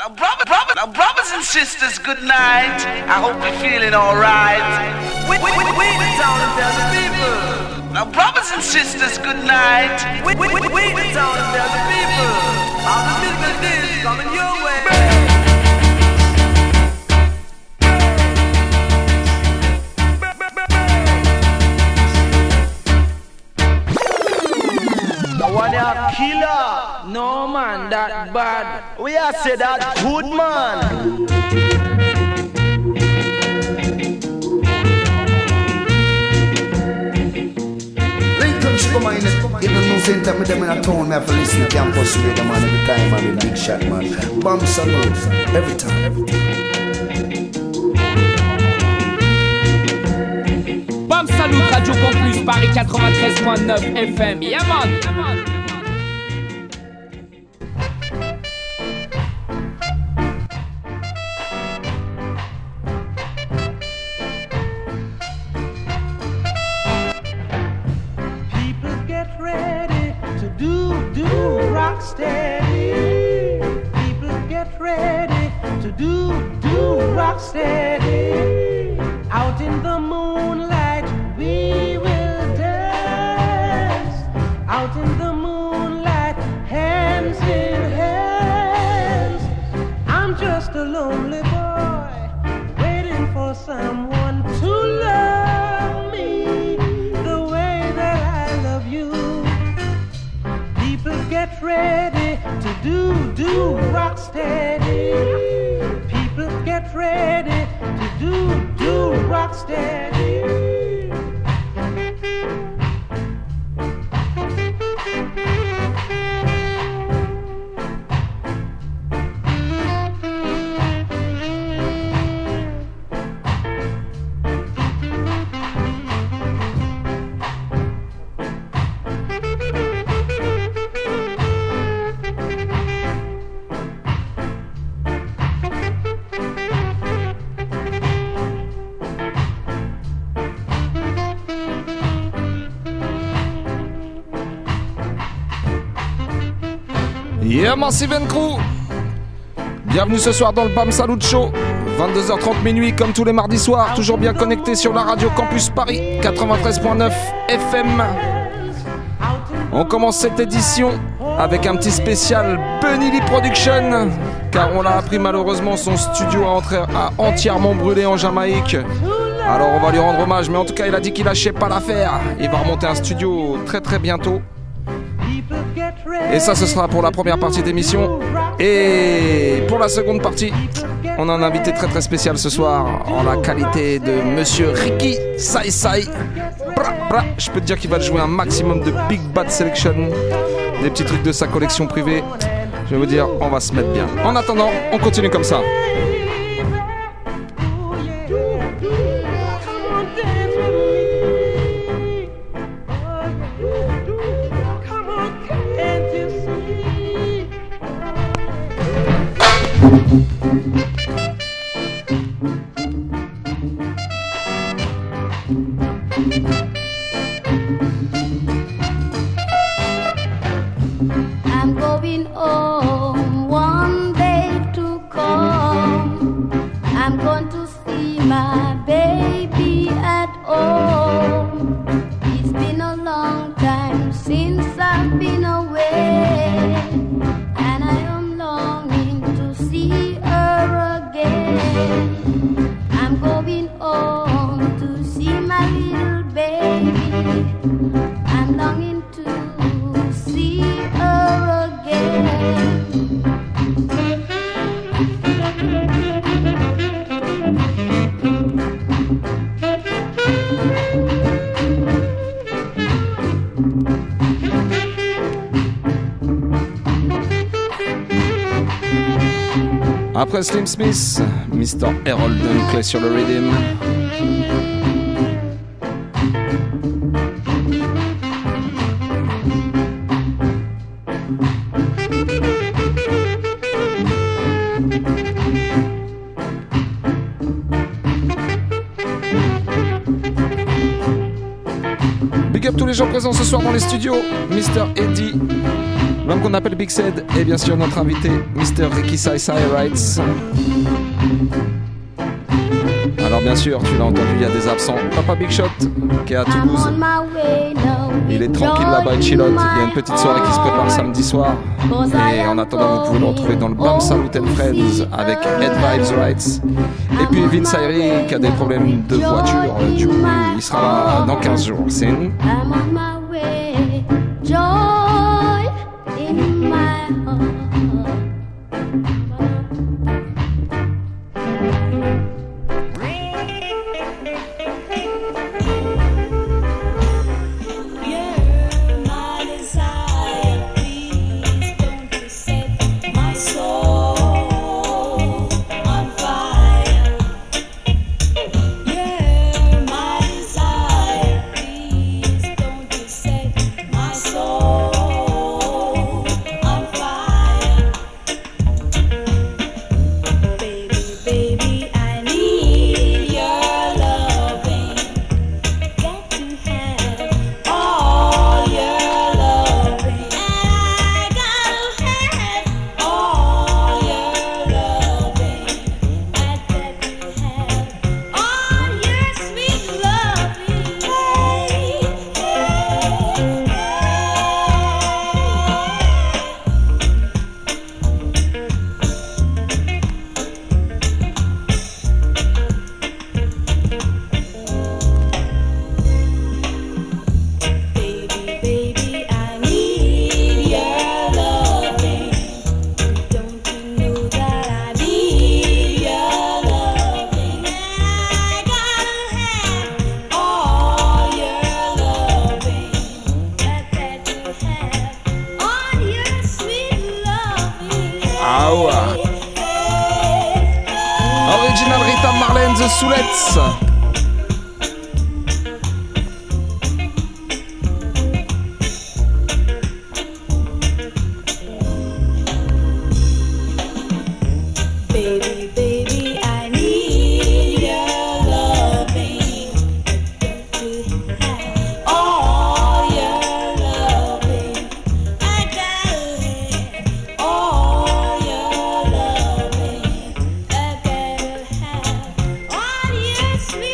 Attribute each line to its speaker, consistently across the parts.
Speaker 1: Brothers and sisters, good night. I hope you're feeling alright. We the town and tell the people. Now, brothers and sisters, good night. We the town and tell the people. All the business is coming your way.
Speaker 2: One a killer.
Speaker 3: No man, that bad.
Speaker 2: We are say that good man.
Speaker 4: Lincoln Sugar Man, even no same time with them in a town, I have to listen to campus radio man every time, I'm a big shot man. Bomb salute, every time.
Speaker 5: Bam Salut, Radio Campus, Paris 93.9 FM. Yeah man.
Speaker 6: People get ready to do rock steady. People get ready to do rock steady. Out in the moonlight we will dance. Out in the moonlight, hands in hands. I'm just a lonely boy waiting for someone to love me the way that I love you. People get ready to do rock steady. People get ready to do rock steady.
Speaker 7: Yeah, Massive & Crew. Bienvenue ce soir dans le Bam Salut Show. 22h30 minuit comme tous les mardis soirs. Toujours bien connecté sur la radio Campus Paris 93.9 FM. On commence cette édition avec un petit spécial Bunny Lee Production. Car on l'a appris malheureusement, son studio a entièrement brûlé en Jamaïque. Alors on va lui rendre hommage. Mais en tout cas il a dit qu'il lâchait pas l'affaire. Il va remonter un studio très très bientôt. Et ça ce sera pour la première partie d'émission. Et pour la seconde partie, on a un invité très très spécial ce soir en la qualité de Monsieur Ricky Sai Sai. Je peux te dire qu'il va jouer un maximum de Big Bad Selection, des petits trucs de sa collection privée. Je vais vous dire, on va se mettre bien. En attendant, on continue comme ça.
Speaker 8: I'm going home one day to come. I'm going to see my baby at home. It's been a long time since I've been away, and I am longing to see her again. I'm going home to see my little baby. I'm longing to see her again.
Speaker 7: Après Slim Smith, Mr. Harold Dunkley sur le rhythm. Big up tous les gens présents ce soir dans les studios. Mr. Eddie, L'homme qu'on appelle Big Said et bien sûr notre invité, Mr. Ricky Sai Sai Wrights. Alors bien sûr, tu l'as entendu, il y a des absents. Papa Big Shot qui est à Toulouse. Il est tranquille là-bas, il chilote. Il y a une petite soirée qui se prépare samedi soir. Et en attendant, vous pouvez le retrouver dans le Bam Salut and Friends avec Ed Vibes Rights. Et puis Vince Ayri qui a des problèmes de voiture. Du coup, il sera là dans 15 jours. C'est une...
Speaker 8: I'm on my way, joy in my heart.
Speaker 7: Original Rita Marlene The Soulets.
Speaker 8: Sweet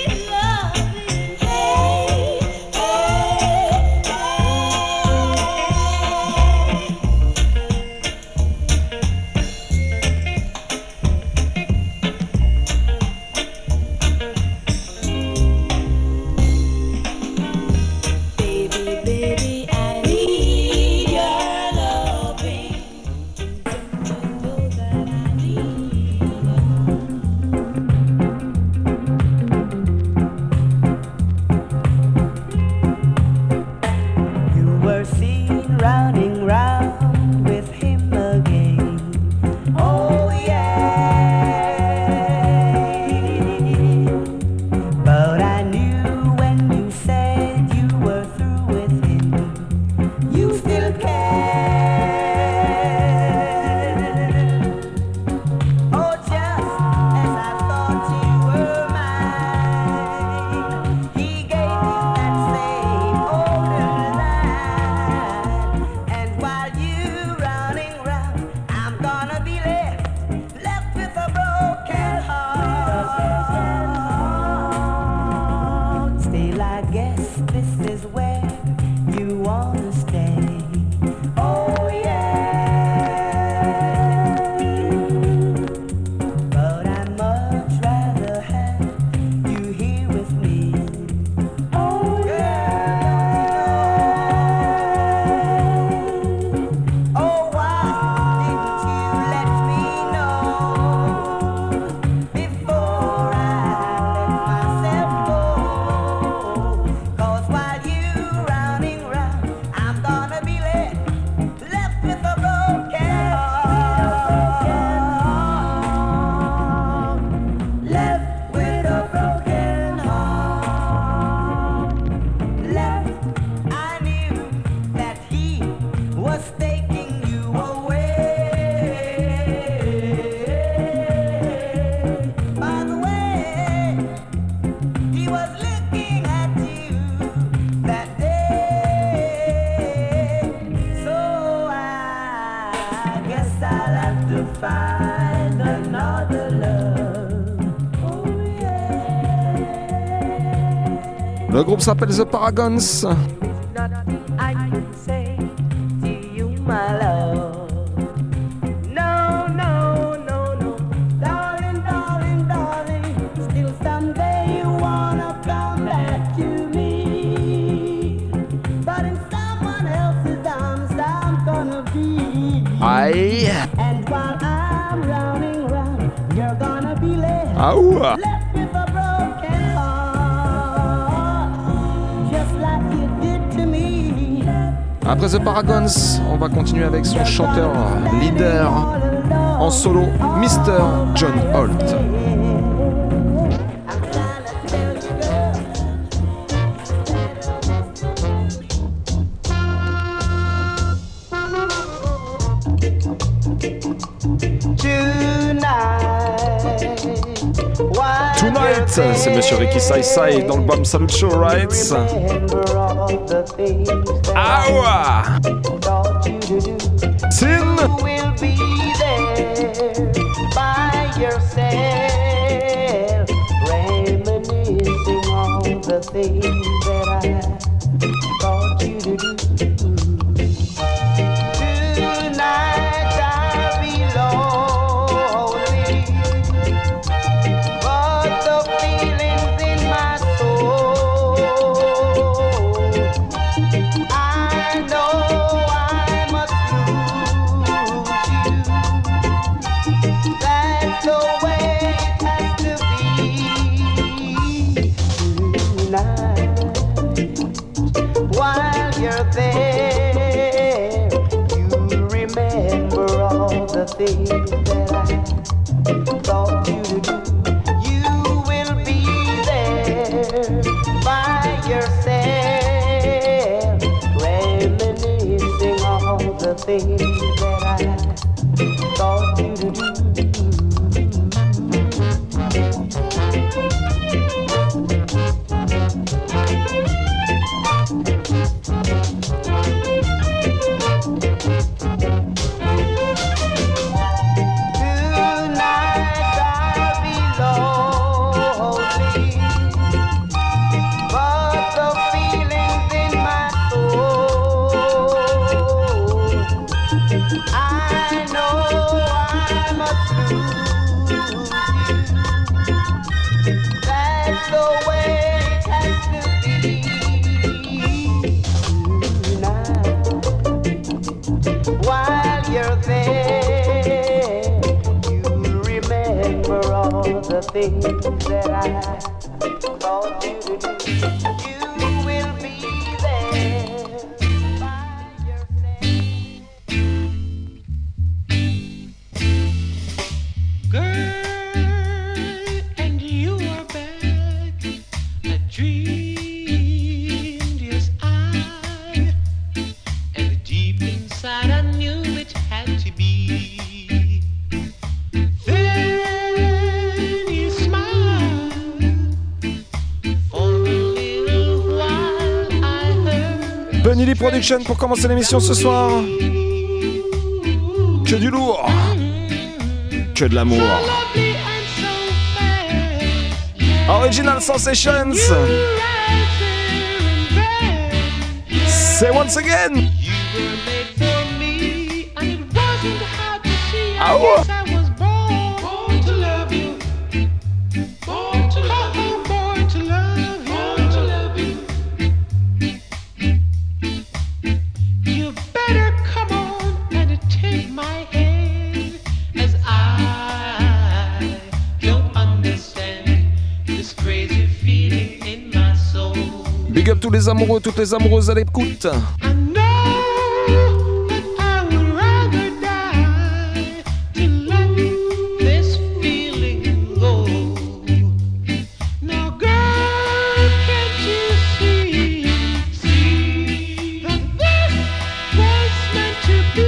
Speaker 7: Le groupe s'appelle The Paragons.
Speaker 6: I can say to you, my love. No, no, no, no, darling, darling, darling. Still someday you wanna come back to me, but in someone else's arms I'm gonna be.
Speaker 7: Aïe.
Speaker 6: And while I'm running round, you're gonna be left.
Speaker 7: Ah ouah.
Speaker 6: Left with a broken heart, just like you did to me.
Speaker 7: Après The Paragons, on va continuer avec son chanteur leader en solo, Mr. John Holt. Tonight, c'est Monsieur Ricky Sai dans le Bam Salut Show, right? Awa! Sin!
Speaker 6: Will be there by yourself, reminiscing all the things that I taught you to do. Tonight I'll be lonely, but the feelings in my soul, I know I must lose you. That's the way it has to be tonight. While you're there, you remember all the things that I taught you to do. You will be there by yourself, reminiscing all the things that I taught you to do. Tonight I'll be lonely, but the feelings in my soul, I know I must lose you. That's the way it has to be tonight. While you're there, you remember all the things that I taught you to do. You will be there by yourself. Girl, and you are back. I dreamed, yes I, and deep inside I knew it had to be. Then you smiled for a little while. I heard
Speaker 7: Benny Lee Production pour commencer l'émission ce soir. Que du lourd. Que de l'amour.
Speaker 6: lovely and so fast.
Speaker 7: Original Sensations.
Speaker 6: Right there and there.
Speaker 7: Say once again.
Speaker 6: You were made for me, and it wasn't hard to see. I
Speaker 7: Ow.
Speaker 6: guess I was born to love you, born to love you, born to love you, born to love you. You better come on and take my hand, as I don't understand this crazy feeling in my soul.
Speaker 7: Big up tous les amoureux, toutes les amoureuses à l'écoute.
Speaker 6: I know that I would rather die to let this feeling go. Now, girl, can't you see that this was meant to be?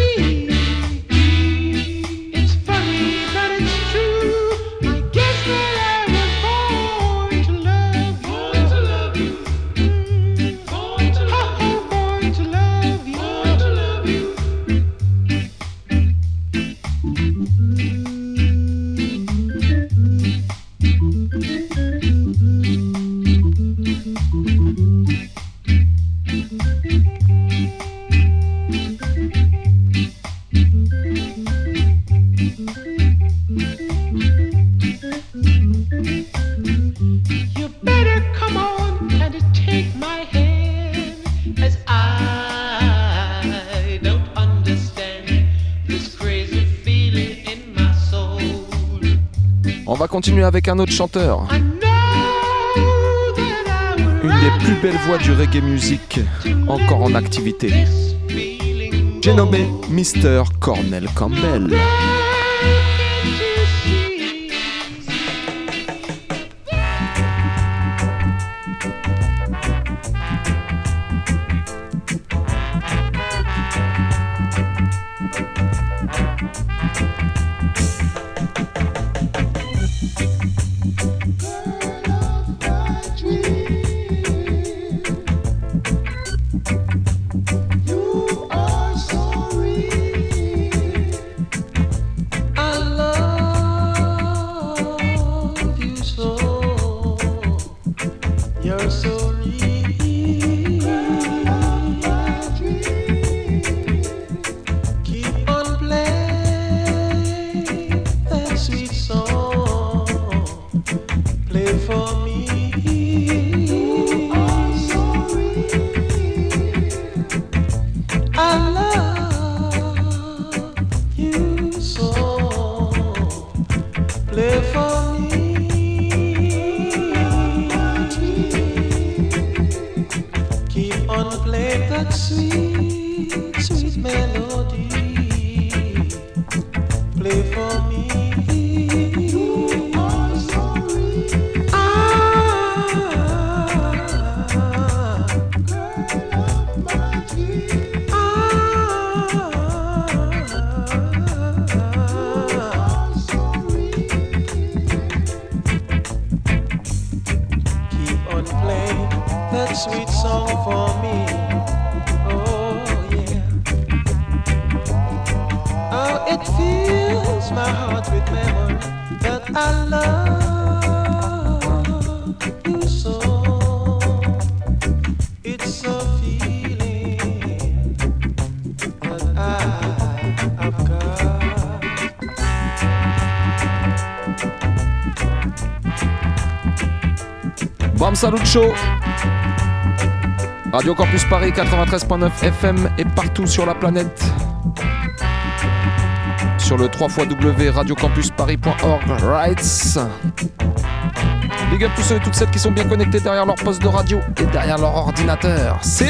Speaker 6: It's funny, but it's true. I guess that I was born to love you. Born to love you. Born to love you.
Speaker 9: You better come on and take my hand, as I don't understand this crazy feeling in my soul.
Speaker 7: On va continuer avec un autre chanteur. Une des plus belles voix du reggae music encore en activité. J'ai nommé Mr. Cornell Campbell. Salut Show, Radio Campus Paris 93.9 FM et partout sur la planète. Sur le www.radiocampusparis.org. Rights. Big up tous ceux et toutes celles qui sont bien connectés derrière leur poste de radio et derrière leur ordinateur. Sin.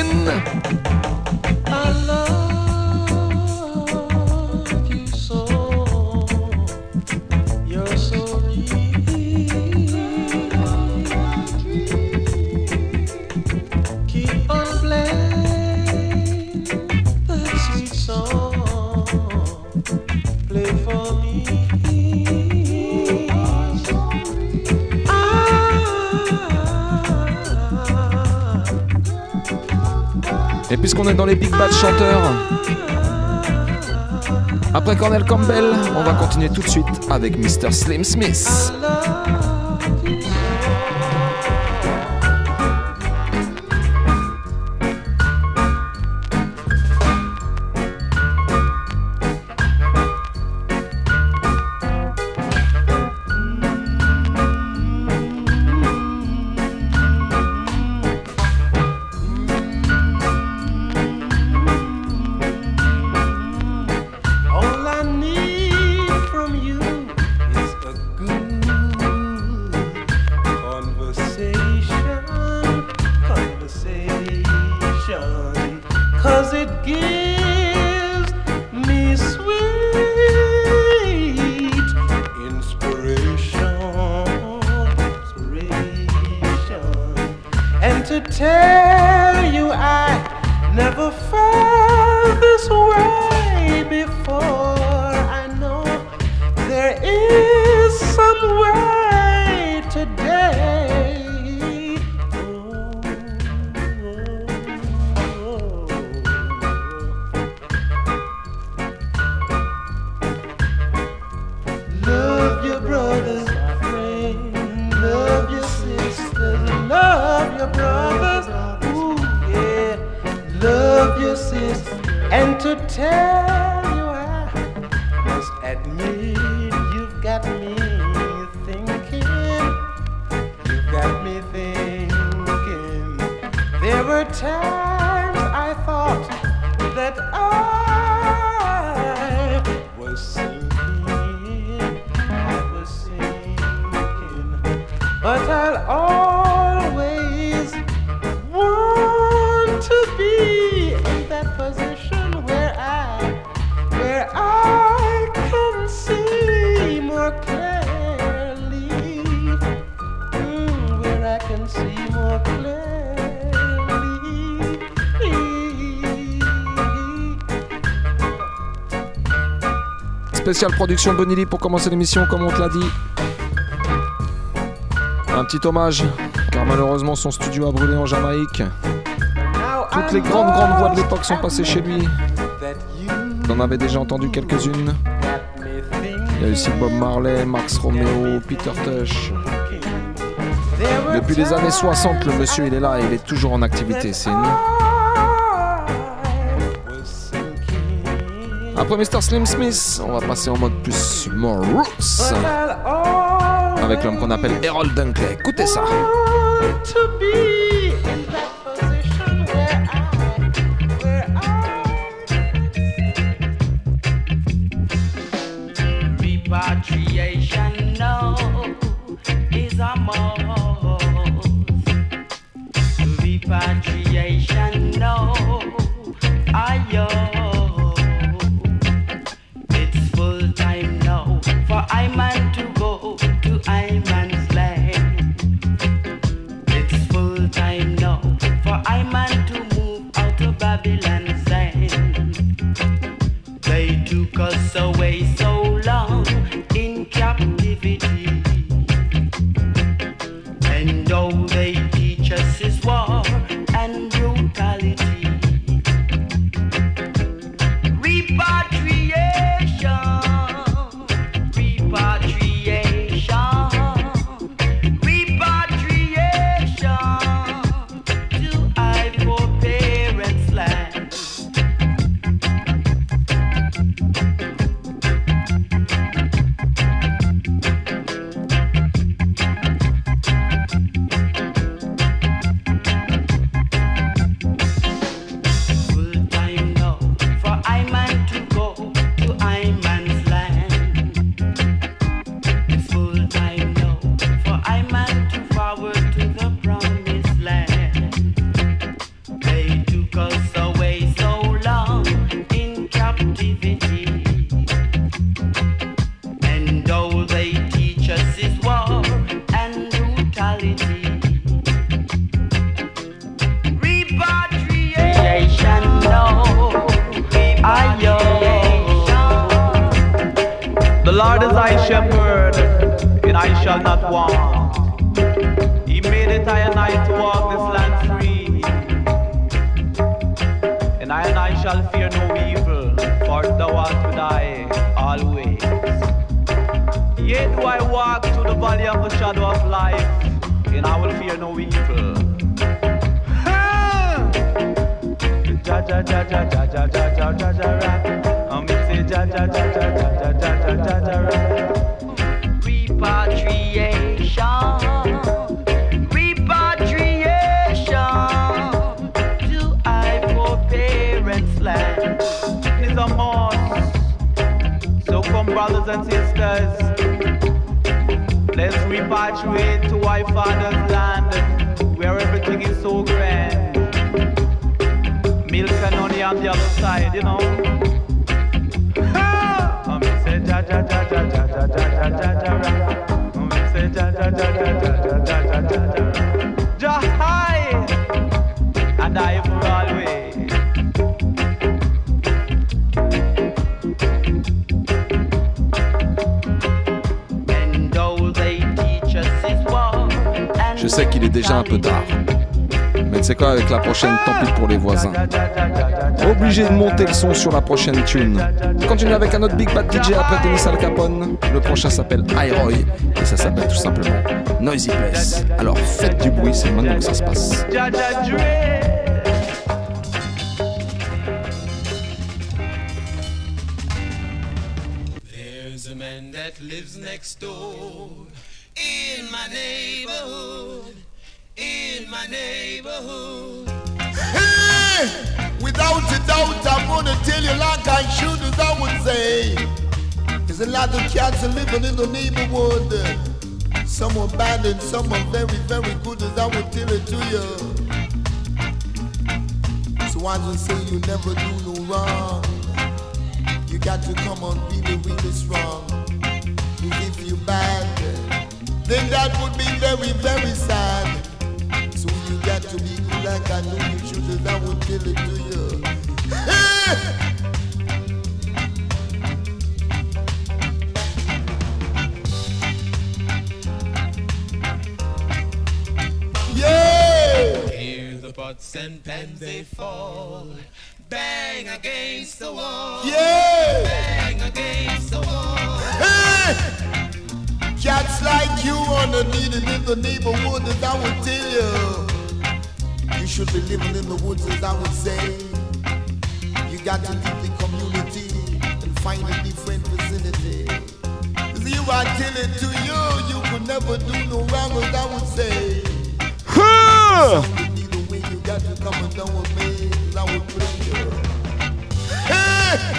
Speaker 7: Et puisqu'on est dans les big bad chanteurs, après Cornell Campbell, on va continuer tout de suite avec Mr. Slim Smith.
Speaker 9: Love your brothers,
Speaker 10: got me thinking. You've got me thinking. There were times I thought that I was sinking. But I'll always want to be in that position where I can see more clearly, where I can see more clearly.
Speaker 7: Spéciale production Bonnie Lee pour commencer l'émission, comme on te l'a dit. Un petit hommage, car malheureusement son studio a brûlé en Jamaïque. Toutes les grandes voix de l'époque sont passées chez lui. On en avait déjà entendu quelques-unes. Il y a aussi Bob Marley, Max Romeo, Peter Tosh. Depuis les années 60, le monsieur il est là et il est toujours en activité. C'est une... Après Mr. Slim Smith, on va passer en mode plus more roots avec l'homme qu'on appelle Harold Dunkley. Écoutez ça.
Speaker 1: Repatriation, no, is a must. Repatriation, no, ayo. It's full time now for I man to go to I man's land. It's full time now for I man to move out of Babylon's land. They took us away so long in captivity, and all they teach us is war and brutality. Repatriation, repatriation, repatriation to our foreparents' land.
Speaker 7: Je sais qu'il est déjà un peu tard, mais c'est quoi avec la prochaine, tant pis pour les voisins. Obligé de monter le son sur la prochaine tune. On continue avec un autre Big Bad DJ après Dennis Al Capone. Le prochain s'appelle iRoy et ça s'appelle tout simplement Noisy Place. Alors faites du bruit, c'est maintenant que ça se passe.
Speaker 11: There's a man that that lives next door. In my neighborhood, in my neighborhood.
Speaker 12: Hey, without a doubt, I'm gonna tell you like I should, as I would say. There's a lot of cats living in the neighborhood. Some are bad and some are very, very good, as I would tell it to you. So I just say you never do no wrong. You got to come on really, really strong. If you're bad, then that would be very, very sad. So you got to be good like I know you should, as I would tell it to you. Yeah!
Speaker 11: Hear the pots and pans they fall, bang against the wall.
Speaker 12: Yeah!
Speaker 11: Bang against the wall.
Speaker 12: Hey! Cats like you are needed in the neighborhood, as I would tell you. You should be living in the woods, as I would say. You got to leave the community and find a different vicinity. As you are telling to you, you could never do no wrong, as I would say. So the way you got to come and down with me, as I would bring you. Hey!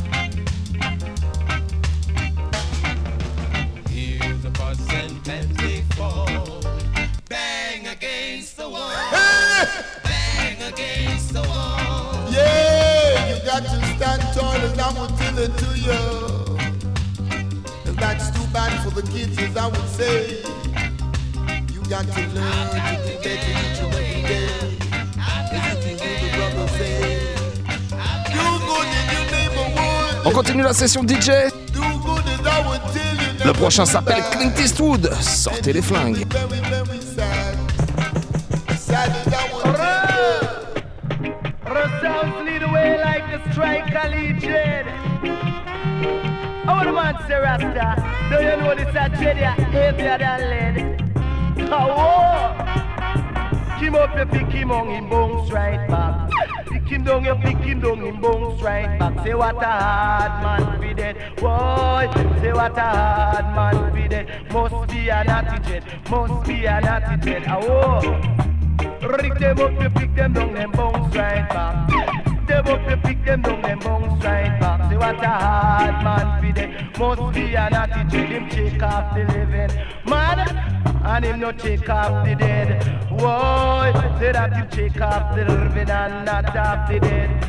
Speaker 11: And pens they fall, bang against the wall. Bang against the wall.
Speaker 12: Yeah, you got to stand tall, as I would tell it to you. And that's too bad for the kids, as I would say. You got to learn to be better each and every day. As you hear the brother say, do good in your neighborhood.
Speaker 7: On continue la session DJ.
Speaker 12: Do good as I would tell you.
Speaker 7: Le prochain s'appelle Clint Eastwood. Sortez les flingues.
Speaker 12: Very, very sad. Sad as I would tell you.
Speaker 2: Sounds lead away like the striker legion. Oh, the man say Rasta. Do you know this a Jedia heavier than lead? Oh, Kim up, you pick him on him bones right back. Pick him down, you pick him down, him bones right back. Say what a hard man be dead. Boy, say what a hard man be dead. Must be an attitude, must be an attitude. Oh, rig them up, you pick them down, them bones right back. Them up, you pick them down, them bones right back. Say what a hard man be dead. Must be an attitude, him take off the living man. And him no take off the dead. Whoa, say that him take off the living and not off the dead.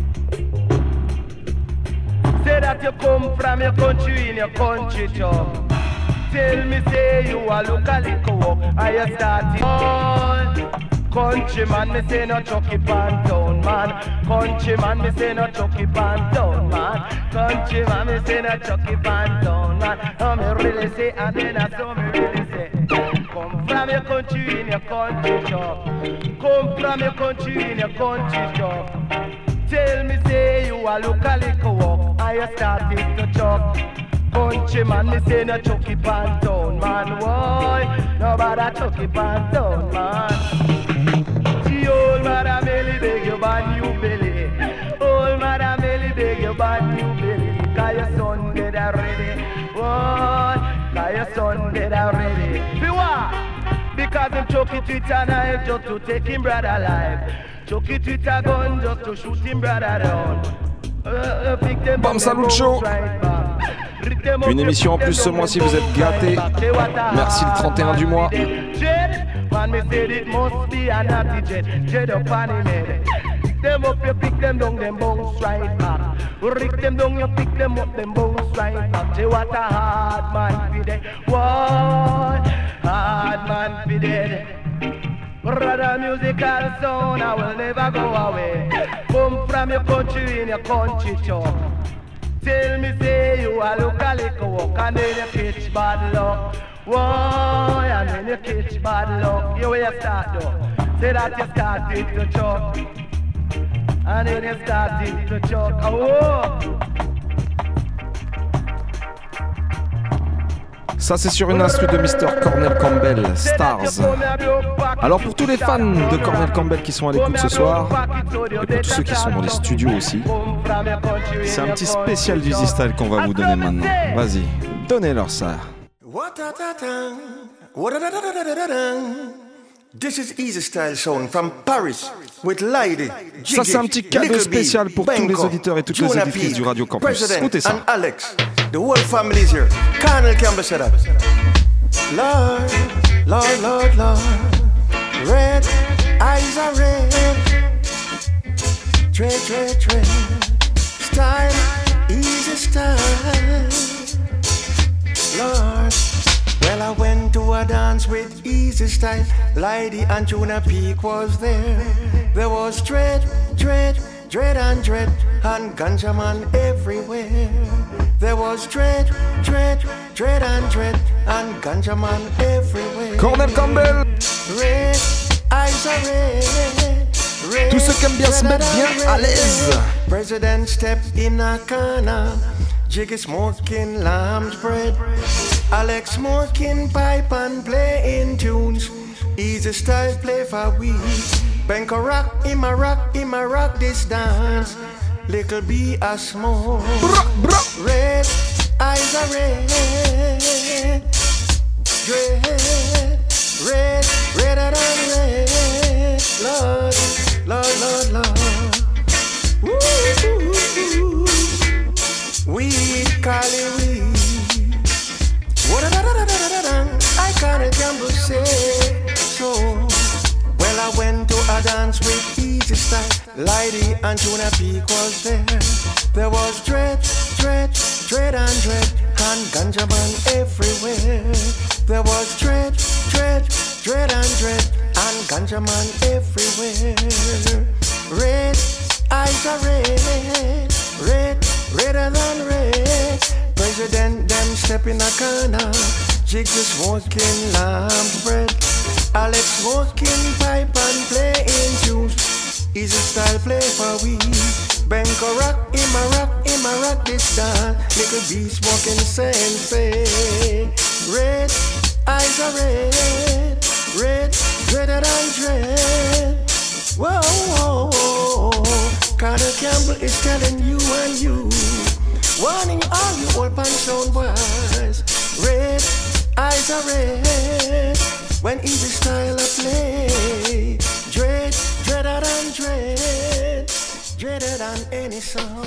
Speaker 2: Say that you come from your country in your country job. Tell me say you a look a little walk. Are you starting? Oh, countryman, me say no chucky pan down, man. Countryman, me say no chucky pan down, man. Countryman, me say no chucky pan down, man. Oh, me really say, and then I saw me really say. Come from your country in your country job. Come from your country in your country job. Tell me say you a look a little walk. And you started to chop. Countryman, me say no chucky pan down, man. Why? Nobody chucky pan down, man. The old Madam Ellie beg you buy new belly. Old Madam Ellie beg you buy new belly. Cause your son dead already. Why? Cause your son dead already. Because him chuck it with a knife just to take him brother alive. Chuck it with a gun just to shoot him brother down.
Speaker 7: Bam Salut Show. Une émission en plus ce mois-ci, vous êtes gâtés. Merci le 31 du mois.
Speaker 2: Them up, you pick them down, them bounce right back. Rick them down, you pick them up, them bounce right back. Say what a hard man be dead. What hard man be dead. Brother musical sound, I will never go away. Come from your country in your country talk. Tell me say you a look a little walk and then you catch bad luck. Why? And then you catch bad luck. You where you start though. Say that you started to choke. And then you started to choke. Oh.
Speaker 7: Ça c'est sur une instru de Mr. Cornel Campbell, Stars. Alors pour tous les fans de Cornel Campbell qui sont à l'écoute ce soir, et pour tous ceux qui sont dans les studios aussi, c'est un petit spécial du Z-Style qu'on va vous donner maintenant. Vas-y, donnez-leur ça.
Speaker 13: This is Easy Style Sound from Paris with Lady.
Speaker 7: Ça c'est un petit cadeau spécial pour tous les auditeurs et toutes les auditrices du Radio Campus. Écoutez ça.
Speaker 13: And Alex, the whole family is here. Colonel Campbell said that. Lord, Lord, Lord, Lord, red eyes are red. Tread, tread, tread. Style, easy style. Lord. Well, I went to a dance with Easy Style. Lady and Tuna Peak was there. There was dread, dread, dread and ganja man everywhere. There was dread, dread, dread and ganja man everywhere.
Speaker 7: Cornel Campbell.
Speaker 13: Red, eyes are red.
Speaker 7: Tous ceux qui aiment bien se mettre bien à l'aise.
Speaker 13: President stepped in a corner. Jiggy smoking lamb's bread. Alex smoking pipe and playing tunes. Easy Style play for we. Benko rock, him a rock this dance. Little B a smoke. Red, eyes are red. Red, redder than red. Lord, Lord, Lord, Lord. Woo-hoo-hoo. Weed, Cali weed. I can't gamble say so. Well, I went to a dance with Easy Style. Lady and Tuna Peak was there. There was dread and ganja man everywhere. There was dread and ganja man everywhere. Red, eyes are red, redder than red. President them step in a corner. Jig the smoking lamb's bread. Alex smoking pipe and playing tunes. Easy Style play for we. Benko rock, him a rock this dance. Little B smoking sensei. Red, eyes are red, redder than dread. Whoa, whoa, whoa. Colonel Campbell is telling you and you. Warning all you old pan sound boys. Red, eyes are red. When Easy Style a play. Dreader than dread. Dreader than any song.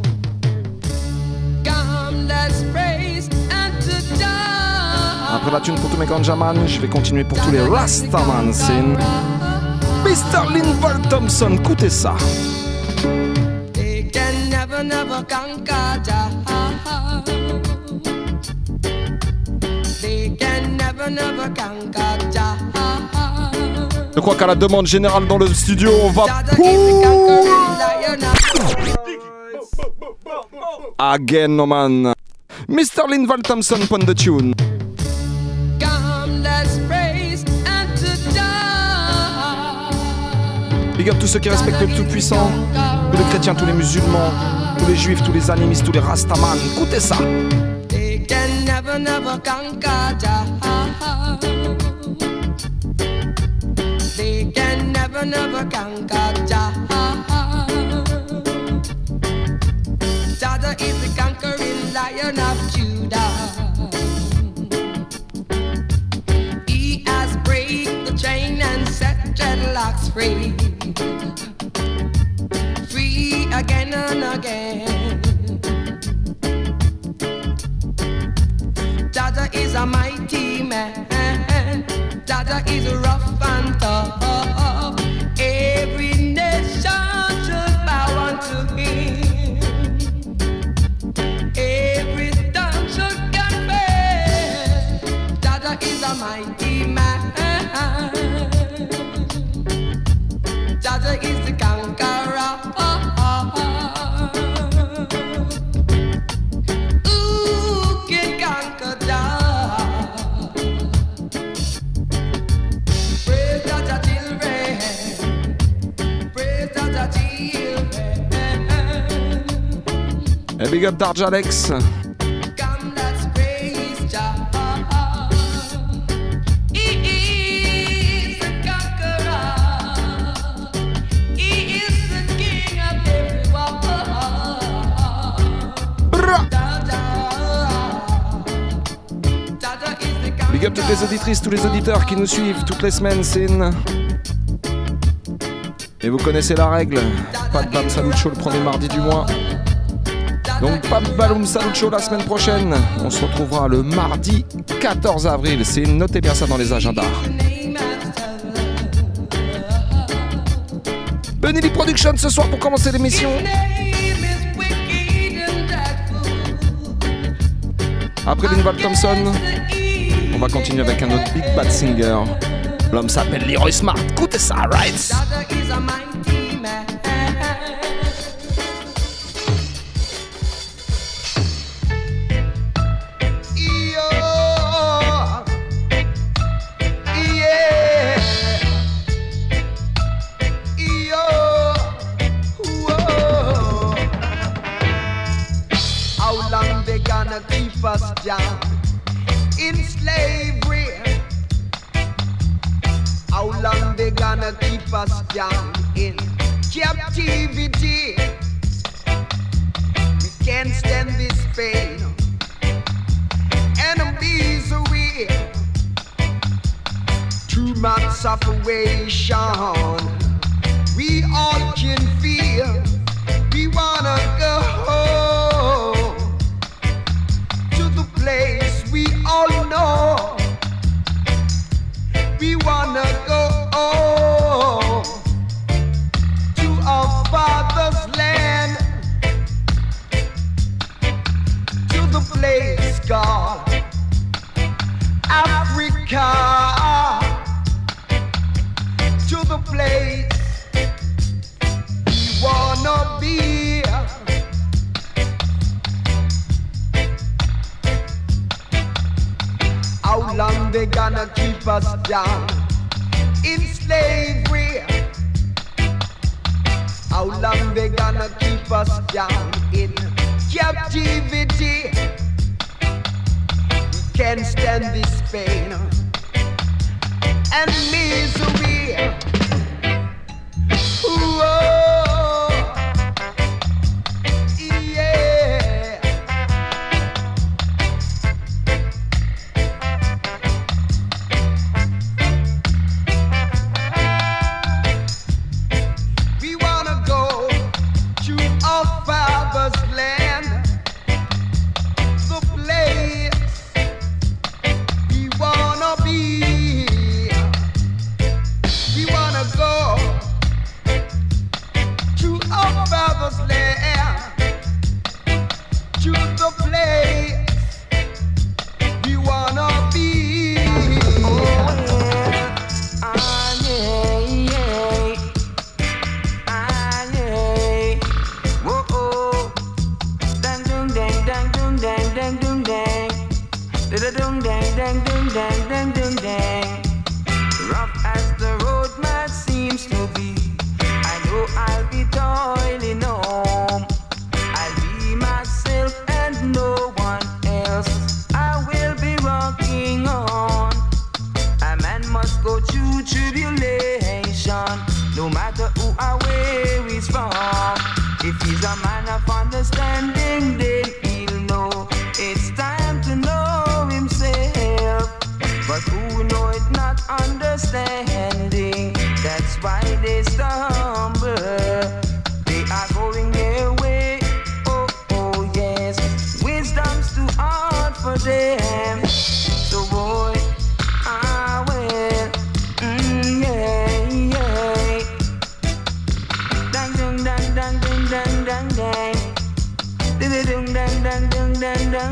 Speaker 3: Come, let's praise and to die.
Speaker 7: Après la tune pour tous mes ganjaman, je vais continuer pour tous les Rastaman. C'est une Mr. Linval Thompson. Écoutez ça.
Speaker 3: They can never conquer Jah. They can never conquer Jah.
Speaker 7: Je crois qu'à la demande générale dans le studio, on va again, no man. Mr. Linval Thompson, pon the tune.
Speaker 3: Come, let's praise and to die.
Speaker 7: Big up tous ceux qui respectent le Tout-Puissant, tous les chrétiens, tous les musulmans, tous les juifs, tous les animistes, tous les rastaman. Écoutez ça.
Speaker 3: They can never conquer Jah. They can never conquer Jah. Jah is the conquering Lion of Judah. He has break the chain and set dreadlocks free. Free again and again. Jah is a mighty man. Jah is rough and tough. Every nation should bow unto him. Every tongue should confess. Jah is a mighty man. Jah is the conqueror. Who can conquer Jah? Praise Jah children. Praise Jah children.
Speaker 7: Et big up Darj Alex.
Speaker 3: Come, let's praise Jah.
Speaker 7: Big up toutes les auditrices, tous les auditeurs qui nous suivent toutes les semaines, c'est une... Et vous connaissez la règle, pas de Bam Salut Show le premier mardi du mois. Donc pas de Bam Salut Show la semaine prochaine. On se retrouvera le mardi 14 avril. C'est notez bien ça dans les agendas. Benelli Production ce soir pour commencer l'émission. Après Linval Thompson, on va continuer avec un autre Big Bad Singer. L'homme s'appelle Leroy Smart. Écoutez ça, right?
Speaker 3: Keep us down in slavery. How long they gonna keep us down in captivity? We can't stand this pain and misery. Too much separation. We all can feel. We wanna go home. Place we all know. We wanna go home to our father's land, to the place called Africa, to the place we wanna be. How long they gonna keep us down in slavery? How long they gonna keep us down in captivity? We can't stand this pain and misery. Whoa.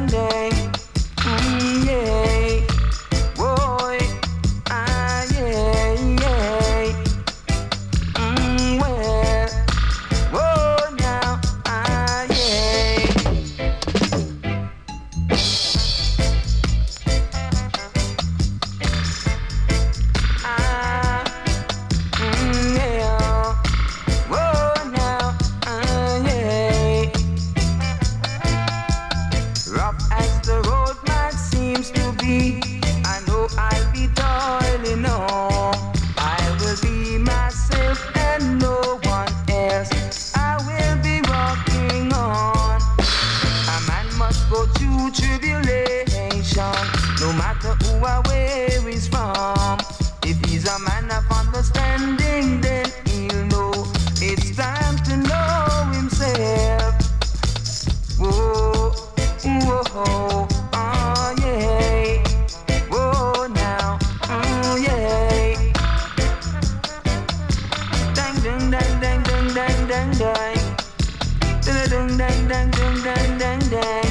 Speaker 3: Yeah, boy, yeah.
Speaker 14: matter who or where he's from. If he's a man of understanding, then he'll know it's time to know himself. Whoa, whoa, oh yeah. Whoa now, oh yeah. Dang, dang, dang, dang, dang, dang, dang, dang. Dang, dang, dang, dang, dang, dang, dang.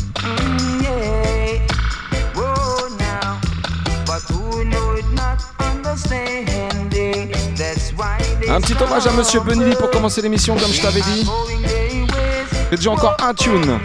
Speaker 14: Yeah. Whoa now, but who know it not understanding? That's why they.
Speaker 7: Un petit hommage à Monsieur Bundy pour commencer l'émission, comme je t'avais dit. J'ai déjà encore un tune.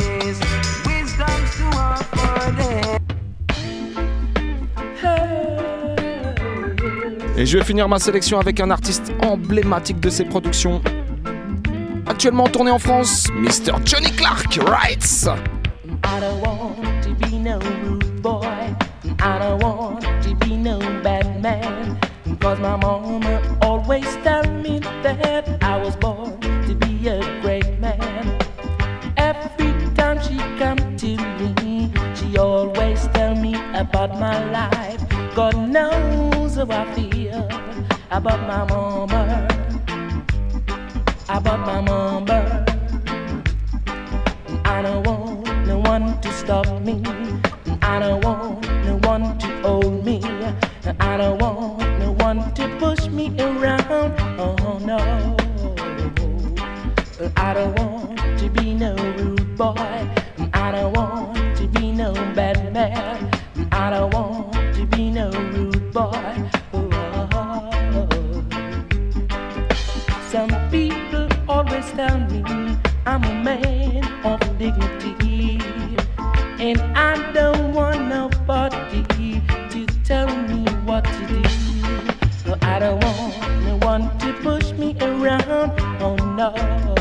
Speaker 7: Et je vais finir ma sélection avec un artiste emblématique de ses productions. Actuellement tourné en France, Mr. Johnny Clark Writes.
Speaker 15: I don't want to be no rude boy. I don't want to be no bad man. Cause my mama always tell me that I was born to be a great man. Every time she come to me, she always tell me about my life. God knows how I feel about my mama. About my mama. I don't want no one to stop me. I don't want no one to hold me. I don't want no one to push me around. Oh no. I don't want to be no rude boy. I don't want to be no bad man. I don't want to be no rude boy. Oh. Some people always tell me I'm a man of dignity, and I don't want nobody to tell me what to do. No, I don't want no one to push me around. Oh no,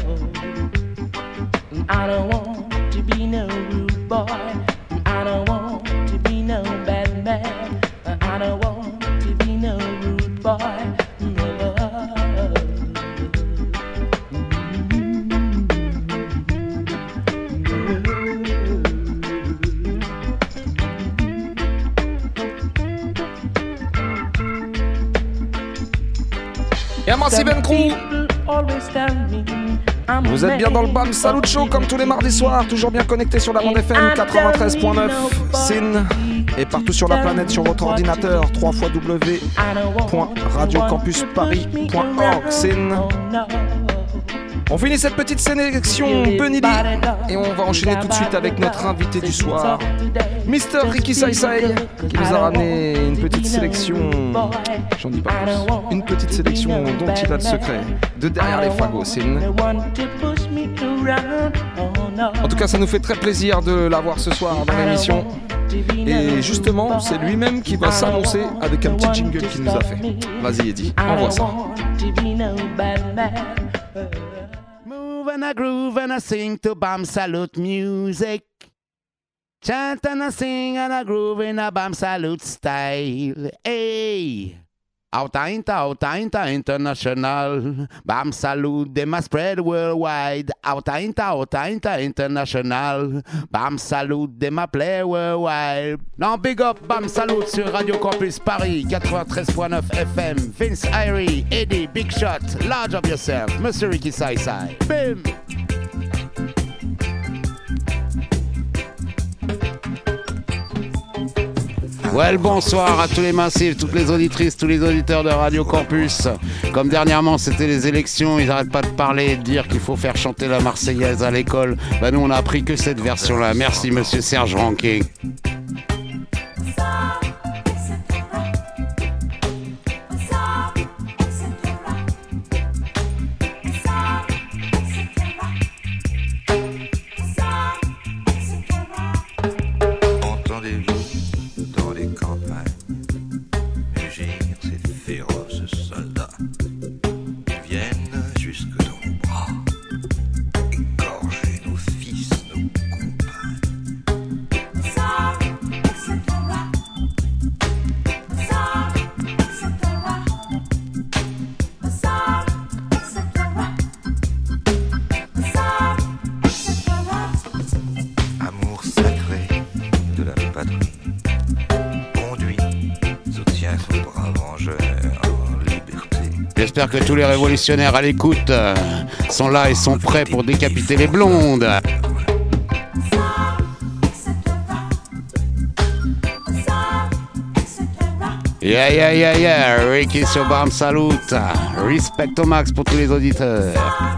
Speaker 15: I don't want to be no rude boy. I don't want to be no bad man. I don't want to be no rude boy.
Speaker 7: Et à Massive Crew, vous êtes bien dans le BAM Salut Show comme tous les mardis soirs, toujours bien connecté sur la bande FM 93.9 SIN et partout sur la planète sur votre ordinateur www.radiocampusparis.org SIN. On finit cette petite sélection Bunny B et on va enchaîner tout de suite avec notre invité du soir, Mr. Ricky Sai Sai, qui nous a ramené une petite sélection, j'en dis pas plus, une petite sélection dont il a le secret, de derrière les fagots, Sin. En tout cas, ça nous fait très plaisir de l'avoir ce soir dans l'émission. Et justement, c'est lui-même qui va s'annoncer avec un petit jingle qu'il nous a fait. Vas-y Eddie, envoie ça.
Speaker 16: Move and I groove and I sing to Bam Salute music. Chant and I sing and I groove in a Bam Salute style. Hey! Outa international. Bam Salute, they must spread worldwide. Outa international. Bam Salute, they must play worldwide. Now big up Bam Salute sur Radio Campus Paris 93.9 FM. Vince Irie, Eddie, Big Shot, large of yourself. Monsieur Ricky Sai Sai. Bim! Well, bonsoir à tous les massifs, toutes les auditrices, tous les auditeurs de Radio Campus. Comme dernièrement c'était les élections, ils n'arrêtent pas de parler et de dire qu'il faut faire chanter la Marseillaise à l'école. Bah nous on a appris que cette version-là. Merci monsieur Serge Ranquet.
Speaker 17: Sorry.
Speaker 16: J'espère que tous les révolutionnaires à l'écoute sont là et sont prêts pour décapiter les blondes. Yeah, Ricky sur Bam Salut. Respect au max pour tous les auditeurs.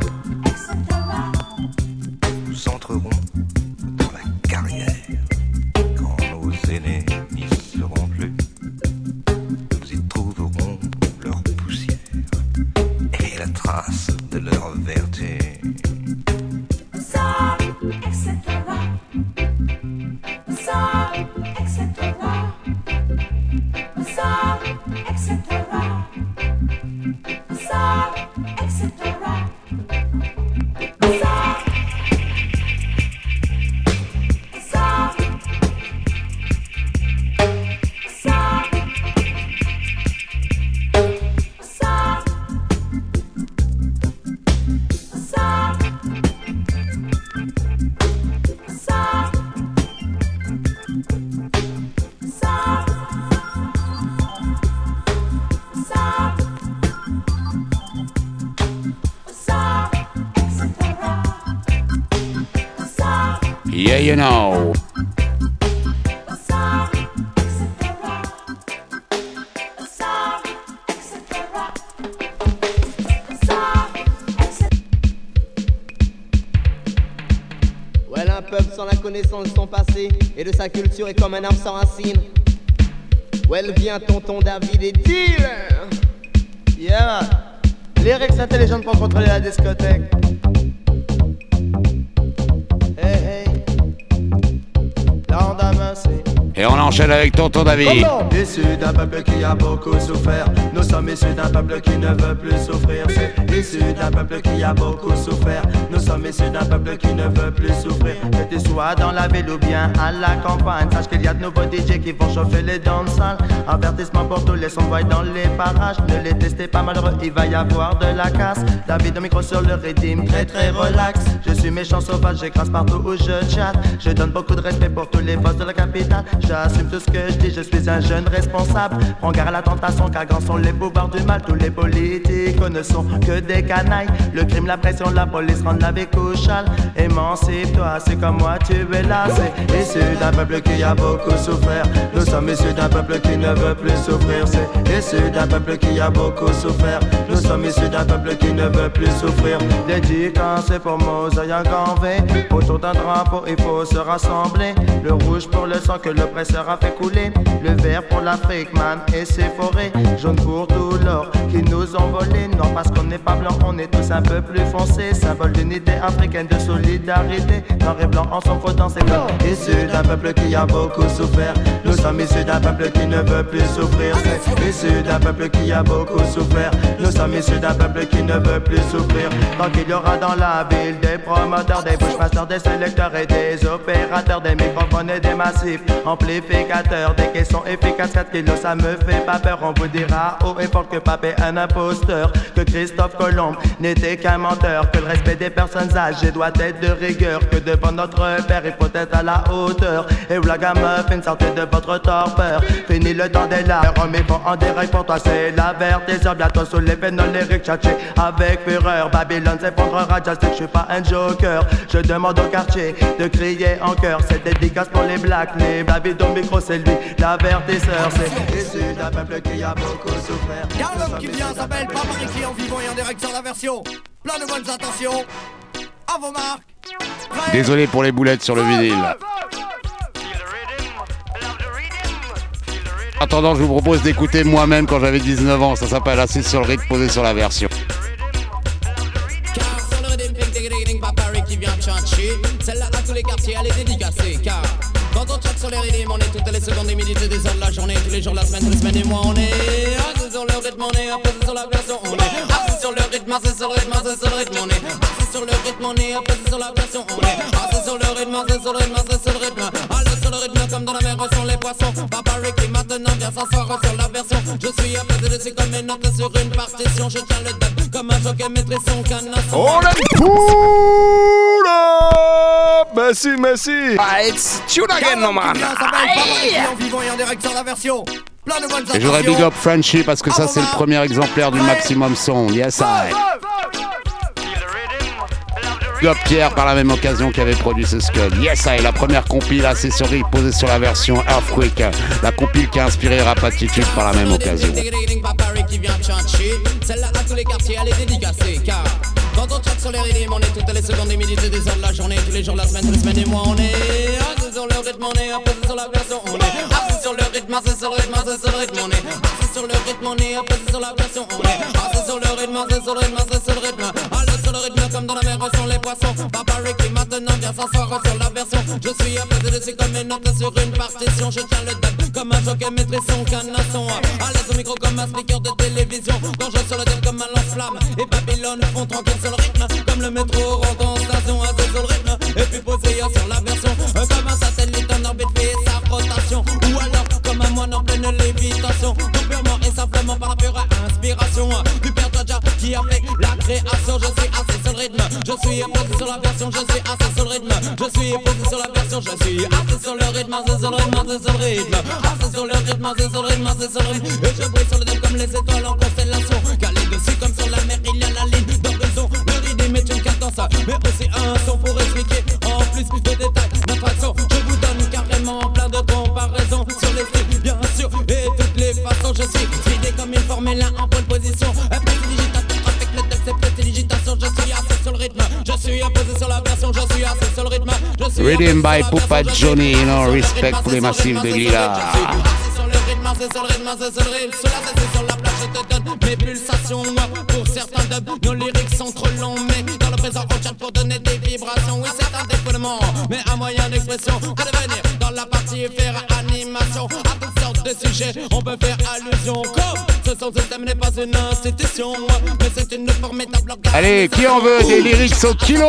Speaker 17: Nous entrerons dans la carrière quand nos aînés n'y seront plus. Nous y trouverons leur poussière et la trace de leur vertu.
Speaker 16: Yeah, you know.
Speaker 18: Well, un peuple sans la connaissance de son passé et de sa culture est comme un arbre sans racines. Well, viens tonton David et dealer.
Speaker 19: Yeah, lyrics intelligents pour contrôler la discothèque. Hey, l'endemain c'est...
Speaker 16: Et on enchaîne avec tonton David.
Speaker 19: Issu d'un peuple qui a beaucoup souffert. Nous sommes issus d'un peuple qui ne veut plus souffrir. C'est issu d'un peuple qui a beaucoup souffert. Nous sommes issus d'un peuple qui ne veut plus souffrir. Que tu sois dans la ville ou bien à la campagne, sache qu'il y a de nouveaux DJ qui vont chauffer les danses-salles. Avertissement pour tous les sons dans les parages. Ne les testez pas malheureux, il va y avoir de la casse. David au micro sur le rythme, très très relax. Je suis méchant sauvage, j'écrase partout où je chatte. Je donne beaucoup de respect pour tous les boss de la capitale. J'assume tout ce que je dis, je suis un jeune responsable. Prends garde à la tentation car grands sont les pouvoirs du mal. Tous les politiques ne sont que des canailles. Le crime, la pression, la police rendent la vie couchale. Émancipe-toi, c'est comme moi, tu es là. C'est issu d'un peuple qui a beaucoup souffert. Nous sommes issus d'un peuple qui ne veut plus souffrir. C'est issu d'un peuple qui a beaucoup souffert. Nous sommes issus d'un peuple qui ne veut plus souffrir. Dédicacé pour Mosaï en grand V. Autour d'un drapeau, il faut se rassembler. Le rouge pour le sang que le l'oppresseur a fait couler. Le vert pour l'Afrique, man, et ses forêts. Jaune pour tout l'or qui nous ont volé. Non, parce qu'on n'est pas blanc, on est tous un peu plus foncés. Symbole d'unité africaine, de solidarité. Noir et blanc en son dans ses corps. Issus d'un peuple qui a beaucoup souffert. Nous sommes issus d'un peuple qui ne veut plus souffrir. C'est issus d'un peuple qui a beaucoup souffert. Nous sommes issus d'un peuple qui ne veut plus souffrir. Tant qu'il y aura dans la ville des promoteurs, des bushmasters, des sélecteurs et des opérateurs, des microphones et des massifs amplificateurs, des caissons efficaces, 4 kilos ça me fait pas peur. On vous dira haut et fort que Pape est un imposteur, que Christophe Colomb n'était qu'un menteur, que le respect des personnes âgées doit être de rigueur, que devant notre père il faut être à la hauteur. Et vous la gamme fin sortez de votre torpeur. Fini le temps des larmes, mais bon en direct pour toi c'est l'avertisseur. Bientôt sous les pénoles lyriques tchatché avec fureur. Babylone s'effondrera, just que je suis pas un joker. Je demande au quartier de crier en chœur. C'est dédicace pour les blacks, les David au micro c'est lui l'avertisseur. C'est issu d'un peuple qui a beaucoup souffert.
Speaker 20: Y'a l'homme qui vient s'appelle Papa Ricky en vivant et en direct sur la version. Plein de bonnes intentions. À vos marques.
Speaker 16: Désolé pour les boulettes sur le vinyle. En attendant, je vous propose d'écouter moi-même quand j'avais 19 ans. Ça s'appelle Assis sur le rythme, posé sur la version.
Speaker 21: Papa Ricky vient chanter. Celle-là à tous les quartiers, elle est dédicacée. Car quand on traite sur les rythmes, on est toutes les secondes, des minutes et des heures de la journée. Tous les jours de la semaine, tous les semaines et mois, on est assis sur le rythme, on est apposé sur la version. On est assis sur le rythme, assis sur le rythme, assis sur le rythme. On est assis sur le rythme, on est apposé sur la version. On est assis sur le rythme, assis sur le rythme, assis sur le rythme. Allez sur le rythme comme dans la mer sont les poissons. Papa Ricky maintenant vient s'asseoir sur la version. Je suis apposé dessus comme une note sur une partition. Je tiens le date comme un jockey maîtrise son canasson.
Speaker 7: On aime pull up! Merci.
Speaker 20: Ah, it's tune again, no man. En vivant et en direct sur la version. plein de bonnes
Speaker 16: Et je voudrais
Speaker 20: intentions.
Speaker 16: big up Frenchy parce que ça c'est le premier exemplaire du Maximum Son. Yes, I. Big up Pierre par la même occasion qui avait produit ce Scud. Yes, I. La première compile accessorie posée sur la version Earthquake. La compile qui a inspiré Rap Attitude par la même occasion.
Speaker 21: Qui vient chanter, celle-là à tous les quartiers, elle est dédicacée. Car quand on traque sur les rythmes, on est toutes les secondes, des minutes et des heures de la journée, tous les jours de la semaine, toutes les semaines et mois, on est assis sur le rythme, on est apposé sur la version, on est assis sur le rythme, assis sur le rythme, assis sur le rythme, on est assis sur le rythme, on est apposé sur la version, on est assis sur le rythme, assis sur le rythme, assis sur le rythme, allez sur le rythme comme dans la mer sont les poissons. Papa Ricky maintenant vient s'asseoir sur la version. Je suis apposé dessus comme une note sur une partition. Je tiens le dub comme un jockey maîtrise son canasson. À l'aise au micro comme un speaker de télévision. Quand je sur le dub comme un lance-flamme. Et Babylone font tranquille sur le rythme. Comme le métro rentre en station, assis sur le rythme. Et puis posé sur la version. Comme un satellite en orbite fait sa rotation. Ou alors comme un moine en pleine lévitation. Donc purement et simplement par la pure inspiration du père Tadja qui a fait la création. Je suis assis sur le rythme. Je suis posé sur la version. Je suis assis sur le rythme. Je suis posé sur la version. Je suis assis sur le rythme. Assis sur le rythme. Assis sur le rythme. Assis sur le rythme. Assis sur le rythme. Assis sur le rythme. Et je brille sur le dème comme les étoiles en constellation. Calé dessus comme sur la mer. Il y a la ligne d'horizon. Le rythme est une cadence, mais aussi un son pour expliquer en plus de détails notre action. Je vous donne carrément plein de comparaisons sur les styles, bien sûr, et toutes les façons. Je suis fidé comme une Formule 1 en bonne position. Prestidigitateur avec le texte et prestidigitation. Je suis assis sur le rythme. Je suis imposé sur la version. Je suis assis sur le rythme. Je suis
Speaker 16: Rhythm by Poupa Johnny, you know, respect pour les massifs de Lila.
Speaker 21: c'est sur le rythme, c'est sur le rythme, c'est sur le rythme. Cela c'est sur la plage, je te donne mes pulsations. Pour certains dubs, nos lyrics sont trop longs, mais dans le présent on chat pour donner des vibrations. Oui, c'est un défoulement, mais un moyen d'expression. Que de venir dans la partie et faire animation à toutes sortes de sujets. On peut faire allusion comme ce son système n'est pas une institution, mais c'est une formidable organisation.
Speaker 16: Allez, qui en veut des lyrics au kilo?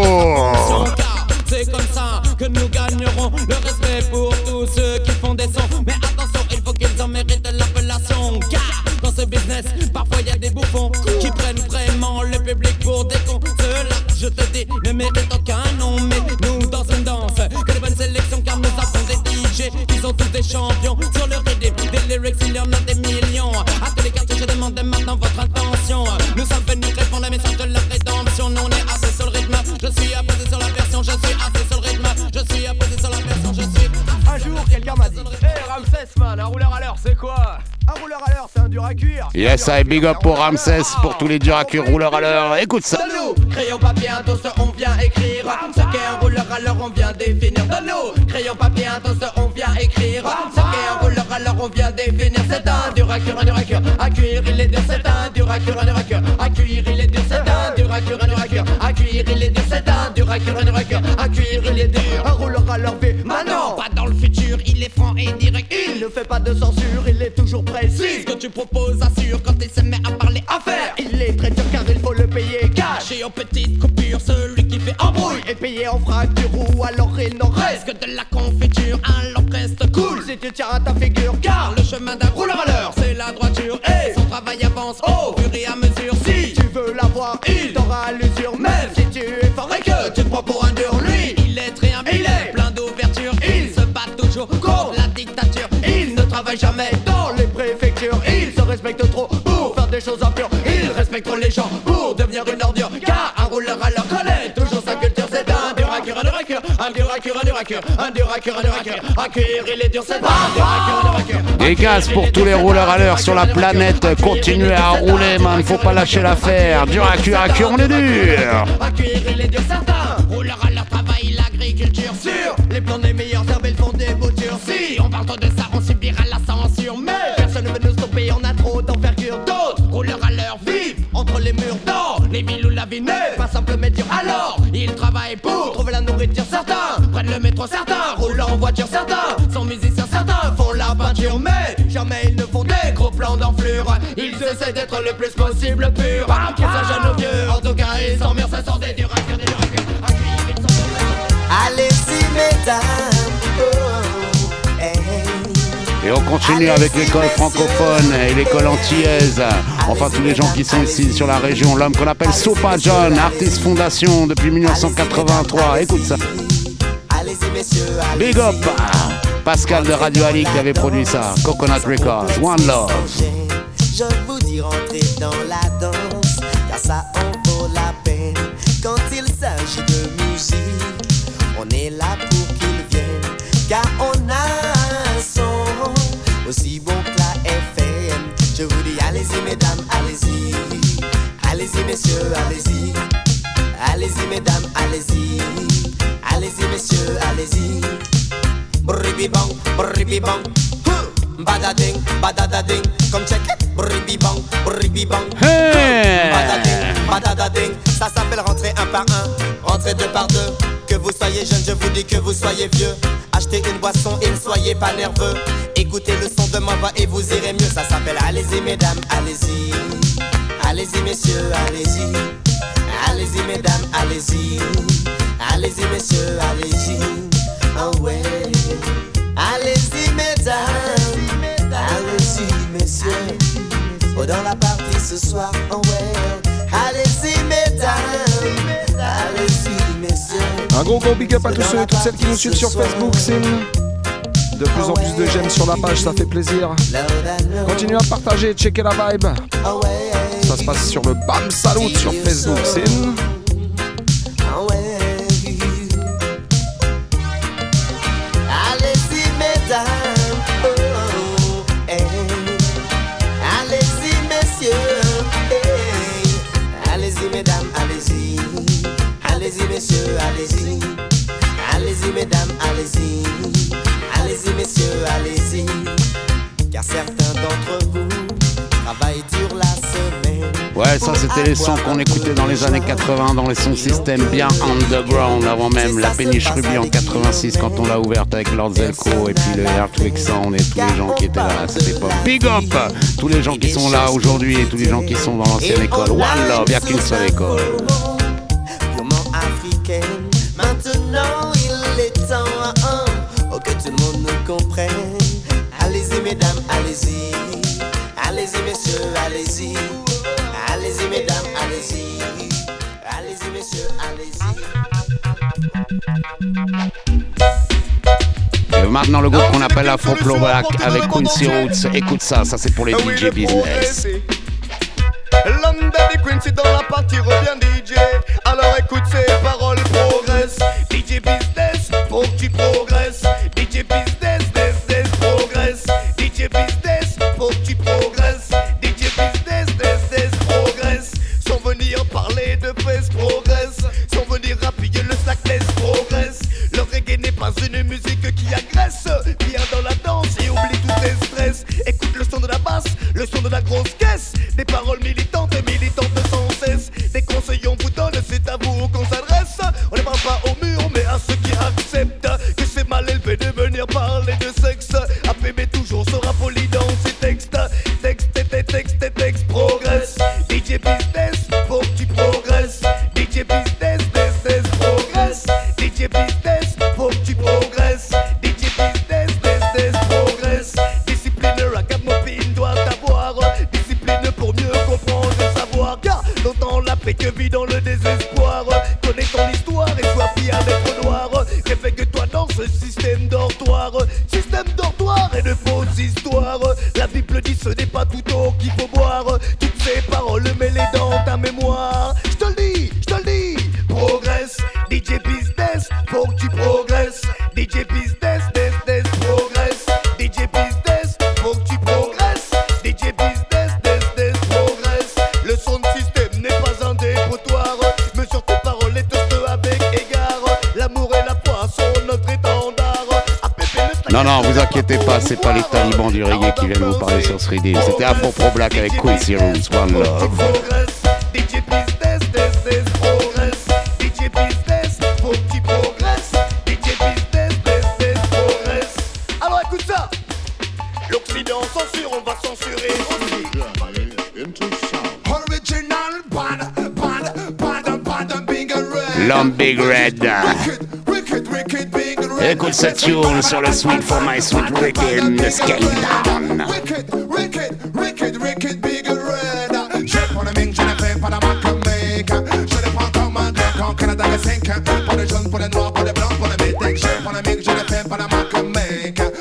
Speaker 21: C'est comme ça que nous gagnerons le respect pour tous ceux qui font des sons. Mais attention, il faut qu'ils en méritent l'appellation. Car dans ce business, parfois il y a des bouffons qui prennent vraiment le public pour des cons. Ceux-là, je te dis, ne méritent aucun nom. Mais nous, dans une danse, que de bonnes sélections, car nous avons des DJ qui sont tous des champions. Sur le rythme, des lyrics, il y en a des millions. À tous les quartiers, je demande maintenant votre attention. Nous sommes venus répondre à message de la rédemption. Nous, on est assis sur le rythme. Je suis apposé sur la version. Je suis assis sur le rythme. Je suis apposé sur la version. Je suis.
Speaker 20: Un jour, quelqu'un m'a dit: Hey Ramsès, man, un rouleur à l'heure, c'est quoi? Un rouleur à l'heure, c'est un dur à cuire.
Speaker 16: Yes, I big up pour Ramsès, pour tous les durs à cuire rouleurs à l'heure. Écoute ça.
Speaker 20: Donne-nous, crayon, papier, un toast, on vient écrire. Ce qu'est un rouleur à l'heure, on vient définir. Donne-nous, crayon, papier, un toast, on vient écrire. Ce qu'est un rouleur à l'heure, on vient définir. C'est un dur à cuire, un dur à cuire. À cuire, il est dur, c'est un dur à cuire, un dur à cuire. À cuire, il est dur, c'est un dur à cuire, un dur à cuire. À cuire, il est dur, c'est un dur à cuire, un dur à cuire. À cuire, il est dur. Un rouleur à l'heure fait maintenant,
Speaker 21: pas dans le futur, il est franc et direct.
Speaker 20: Il ne fait pas de censure, il est toujours précis.
Speaker 21: Ce que tu proposes assure quand il se met à parler
Speaker 20: affaire. Il est très dur car il faut le payer cash.
Speaker 21: Et en petite coupure, celui qui fait
Speaker 20: embrouille est payé en fracture ou alors il n'en reste
Speaker 21: que de la confiture. Alors reste cool
Speaker 20: si tu tiens à ta figure, car
Speaker 21: le chemin d'un rouleur à l'heure, c'est la droiture. Et son travail avance au fur et à mesure.
Speaker 20: Si tu veux l'avoir, il t'aura à l'usure. Même si tu es fort et que tu te prends pour un dur, lui,
Speaker 21: il est très habile, plein d'ouverture. Il se bat toujours contre la dictature.
Speaker 20: Il ne travaille jamais dans les préfectures. Il se respecte trop pour faire des choses impures. Il respecte trop les gens pour devenir une ordure. Car un rouleur à l'heure connaît toujours sa culture. C'est un dur à cuire, un dur à cuire. Un dur à cuire, un dur à cuire. Un dur à cuire, un dur à cuire. À cuire, il est dur, c'est un dur à cuire, un dur à cuire.
Speaker 16: Des gaz pour tous les rouleurs à l'heure sur la planète. Continuez à rouler, man. Faut pas lâcher l'affaire. Dur à cuire, on est dur.
Speaker 20: À cuire, il est dur, certains rouleurs à l'heure travaillent l'agriculture. Sur les plans des meilleurs herbes, ils font des boutures. Si on parle trop de ça, on subira la censure. Mais personne ne veut nous stopper, on a trop d'envergure. D'autres rouleurs à l'heure vivent entre les murs d'or. Les villes où la vie n'est pas simple mais dure. Alors, ils travaillent pour trouver la nourriture. Certains prennent le métro, certains roulent en voiture. Certains sont musiciens, certains font la peinture. Mais jamais ils ne font des gros plans d'enflure. Ils essaient d'être le plus possible pur. Qu'ils soient jeunes ou vieux, en tout cas ils s'emmerdent. Ce sont des durs à cuire, des durs à cuire.
Speaker 3: Allez-y mesdames,
Speaker 16: Et on continue avec l'école francophone et l'école antillaise. Enfin, tous les gens qui sont ici sur la région. L'homme qu'on appelle Sopa John, artiste fondation depuis 1983. Écoute ça.
Speaker 3: Allez-y messieurs,
Speaker 16: Big up. Pascal de Radio Ali qui avait produit ça. Coconut Records, One Love.
Speaker 4: Je vous dis rentrez dans la danse, car ça en vaut la peine. Quand il s'agit de musique, on est là pour qu'ils viennent, car on a un son aussi bon que la FM. Je vous dis allez-y mesdames, allez-y. Allez-y messieurs, allez-y. Allez-y mesdames, allez-y. Allez-y messieurs, allez-y. Bribibang, bribibang. Badading, badadading. Comme check it. Bribibang, bribibang. Badading, badadading. Ça s'appelle rentrer un par un, rentrer deux par deux. Que vous soyez jeune, je vous dis que vous soyez vieux. Achetez une boisson et ne soyez pas nerveux. Écoutez le son de ma voix et vous irez mieux. Ça s'appelle allez-y mesdames, allez-y. Allez-y messieurs, allez-y. Allez-y mesdames, allez-y. Allez-y messieurs, allez-y. Oh ouais. Allez-y mesdames, allez-y messieurs. Oh dans la partie ce soir, oh ouais. Allez-y mesdames, allez-y messieurs.
Speaker 7: Un gros big up à tous ceux et toutes celles qui nous suivent sur Facebook, c'est de plus en plus de j'aime sur la page, ça fait plaisir. Continuez à partager, checker la vibe. Ça se passe sur le BAM Salut sur Facebook, c'est
Speaker 4: allez-y mesdames, oh, hey. Allez-y messieurs, hey. Allez-y mesdames, allez-y. Allez-y messieurs, allez-y. Allez-y mesdames, allez-y. Allez-y messieurs, allez-y. Car certains d'entre vous travaillent dur la semaine.
Speaker 16: Ouais, ça c'était les sons qu'on écoutait dans les années 80, dans les sons système bien underground, avant même la péniche Ruby en 86 quand on l'a ouverte avec Lord Zelko et puis le Earthquake Sound et tous les gens qui étaient là à cette époque. Big up tous les gens qui sont là aujourd'hui et tous les gens qui sont dans l'ancienne école. One Love, il n'y a qu'une seule école.
Speaker 4: Purement africaine, maintenant il est temps que tout le monde nous comprenne. Allez-y mesdames, allez-y. Allez-y messieurs, allez-y. Allez-y mesdames, allez-y. Allez-y messieurs, allez-y.
Speaker 16: Et maintenant le groupe qu'on appelle Afro Black avec Quincy Roots. Écoute ça, ça c'est pour les DJ business.
Speaker 22: L'homme Daddy Quincy dans la partie revient DJ. Alors écoute ces paroles, progresse. DJ business, faut que tu progresses. DJ business, progresse. DJ business, faut que tu progresses. DJ business, progresse. Sans venir parler de fesses, progresse. Sans venir appuyer le slackless, progresse. Le reggae n'est pas une musique qui agresse. Viens dans la danse et oublie tous tes stress. Écoute le son de la basse, le son de la grosse caisse. Des paroles militantes sans cesse. Des conseils on vous donne, c'est à vous qu'on s'adresse. On ne parle pas au mur, mais à ceux qui acceptent que c'est mal élevé de venir parler de sexe. APB toujours sera poli dans ses textes. Texte, progresse. DJ business, faut que tu progresses. DJ business, progresse. DJ business, faut que tu progresses. DJ business, progresse. Discipline, ragamuffin doit avoir. Discipline pour mieux comprendre le savoir. Car longtemps la paix que vit dans le désespoir. Connais ton histoire et sois fier d'être noir. Réveille-toi dans ce système dortoir. Système dortoir et de fausses histoires. La Bible dit ce n'est pas tout eau qu'il faut boire. Toutes ces paroles mets-les dans ta mémoire. Je te le dis, progresse. DJ business, faut que tu progresses. DJ business, progresse. DJ business, faut que tu progresses. DJ business, progresse. Le son de système n'est pas un dépotoir. Mesure tes paroles et toste avec égard. L'amour et la foi sont notre étendard.
Speaker 16: Non, vous inquiétez pas, c'est pas les talibans du reggae qui viennent vous parler sur ce reading. C'était Afro Black avec Quincy Roots, One Love.
Speaker 22: DJ business, progresse. DJ business, faut que tu progresses. DJ business, progresse. Alors écoute ça. L'Occident censure, on va censurer aussi. Original band, Big Red.
Speaker 16: L'homme Big Red. Écoute cette tune sur le Sweet for My Sweet Rhythm de Scale Down.
Speaker 22: Wicked, Big Red. Je prends le ming, je le fais pas la marque make. Je le prends comme un grec en Canada le 5. Pour les jaunes, pour les noirs, pour les blancs, pour les métèques. Je prends le ming, je le fais pas la marque make.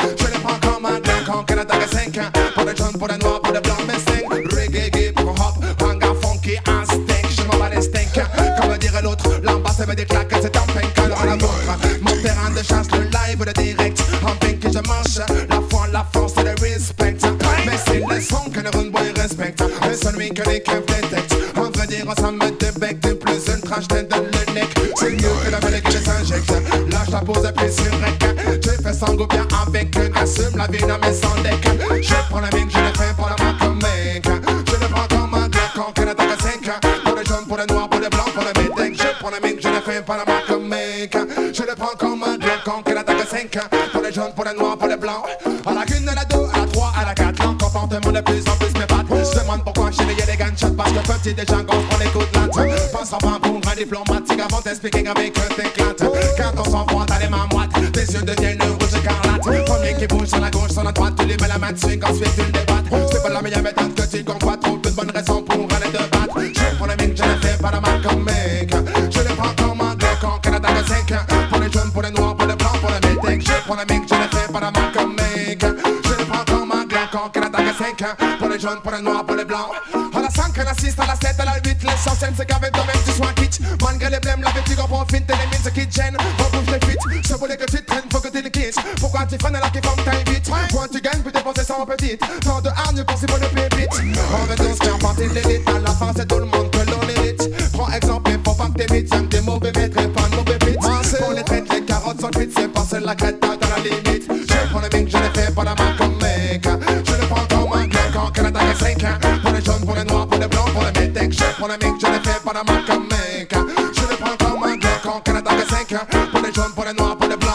Speaker 5: Pour les jaunes, pour les noirs, pour les blancs, mais sing. Reggae, pour hop, hanga, funky, un steak. Je m'en bats les steaks, comme dirait l'autre. L'ambassade me déclare que c'est un pink, alors la vôtre. Mon terrain de chasse, le live, le direct. En pink, je mange la foi, la force et le respect. Mais c'est le son que le rude boy respecte. Et celui que les keufs détectent. En vrai dire, ça me débec de plus une trash tête de le neck. C'est mieux que la mêlée que je s'injecte. Lâche la pose et puis sur rec. Tu fais sang ou bien avec eux. Assume la vie dans mes sans deck. Je prends la mine, je le fais pour la marque mec. Je le prends comme un Glock en Canada à 5. Pour les jaunes, pour les noirs, pour les blancs, pour les métèques. Je prends la mine, je le fais pour la marque mec. Je le prends comme un Glock en Canada à 5. Pour les jaunes, pour les noirs, pour les blancs. À la 1, à la 2, à la 3, à la 4. L'encomportement de plus en plus m'épate. Je demande pourquoi chez les y'a des gunshots. Parce que petit déjà gauche prend les coups de latte. Passe en bas pour un diplomatique avant d'expliquer avec eux t'éclates. Quand on s'en froid, t'as les mains moites. Tes yeux deviennent rouge écarlate. Premier qui bouge sur la gauche, sur la droite. Tu lui mets la main dessus, ensuite tu le débattes. C'est pas la meilleure méthode que tu convoites. Trouve de bonnes raisons pour aller te battre. Je prends les mines, je les fais pas la marque comme mec. Je les prends comme un Glock en Canada de 5. Pour les jaunes, pour les noirs, pour les blancs, pour les métèques. Je prends les mines, je les fais pas la marque comme mec. Je les prends comme un Glock en Canada de 5. Pour les jaunes, pour les noirs, pour les blancs. À la 5, à la 6, à la 7, à la 8. L'essentiel c'est qu'avec toi-même tu sois quitte. Malgré les blèmes, la fatigue, on profite. T'es les mines, ce qui te gêne. On bouge les fuites. Je voulais que tu te traînes, faut que tu le quittes. Pourquoi tu fais là qui font que t'ailles vite? Quand tu gagnes, puis dépenser sans petite. Tant de hargne, pensez pas le pépite. On veut tous faire partie de l'élite. À la fin, c'est tout le monde que l'on hérite. Prends exemple, faut pas que t'es vite. Y'aime des mauvais maîtres et pas de mauvais bits. Pour les traites, les carottes sont cuites. C'est passer la crête dans la limite. Je prends le mink, je les fais pas la main comme mec. Je le prends comme un Glock en Canada de 5. Pour les jaunes, pour les noirs, pour les blancs, pour les métèques. Je prends le mink, je les fais pas la main comme mec. Je le prends comme un Glock en Canada de 5. Pour les jaunes, pour les noirs, pour les blancs.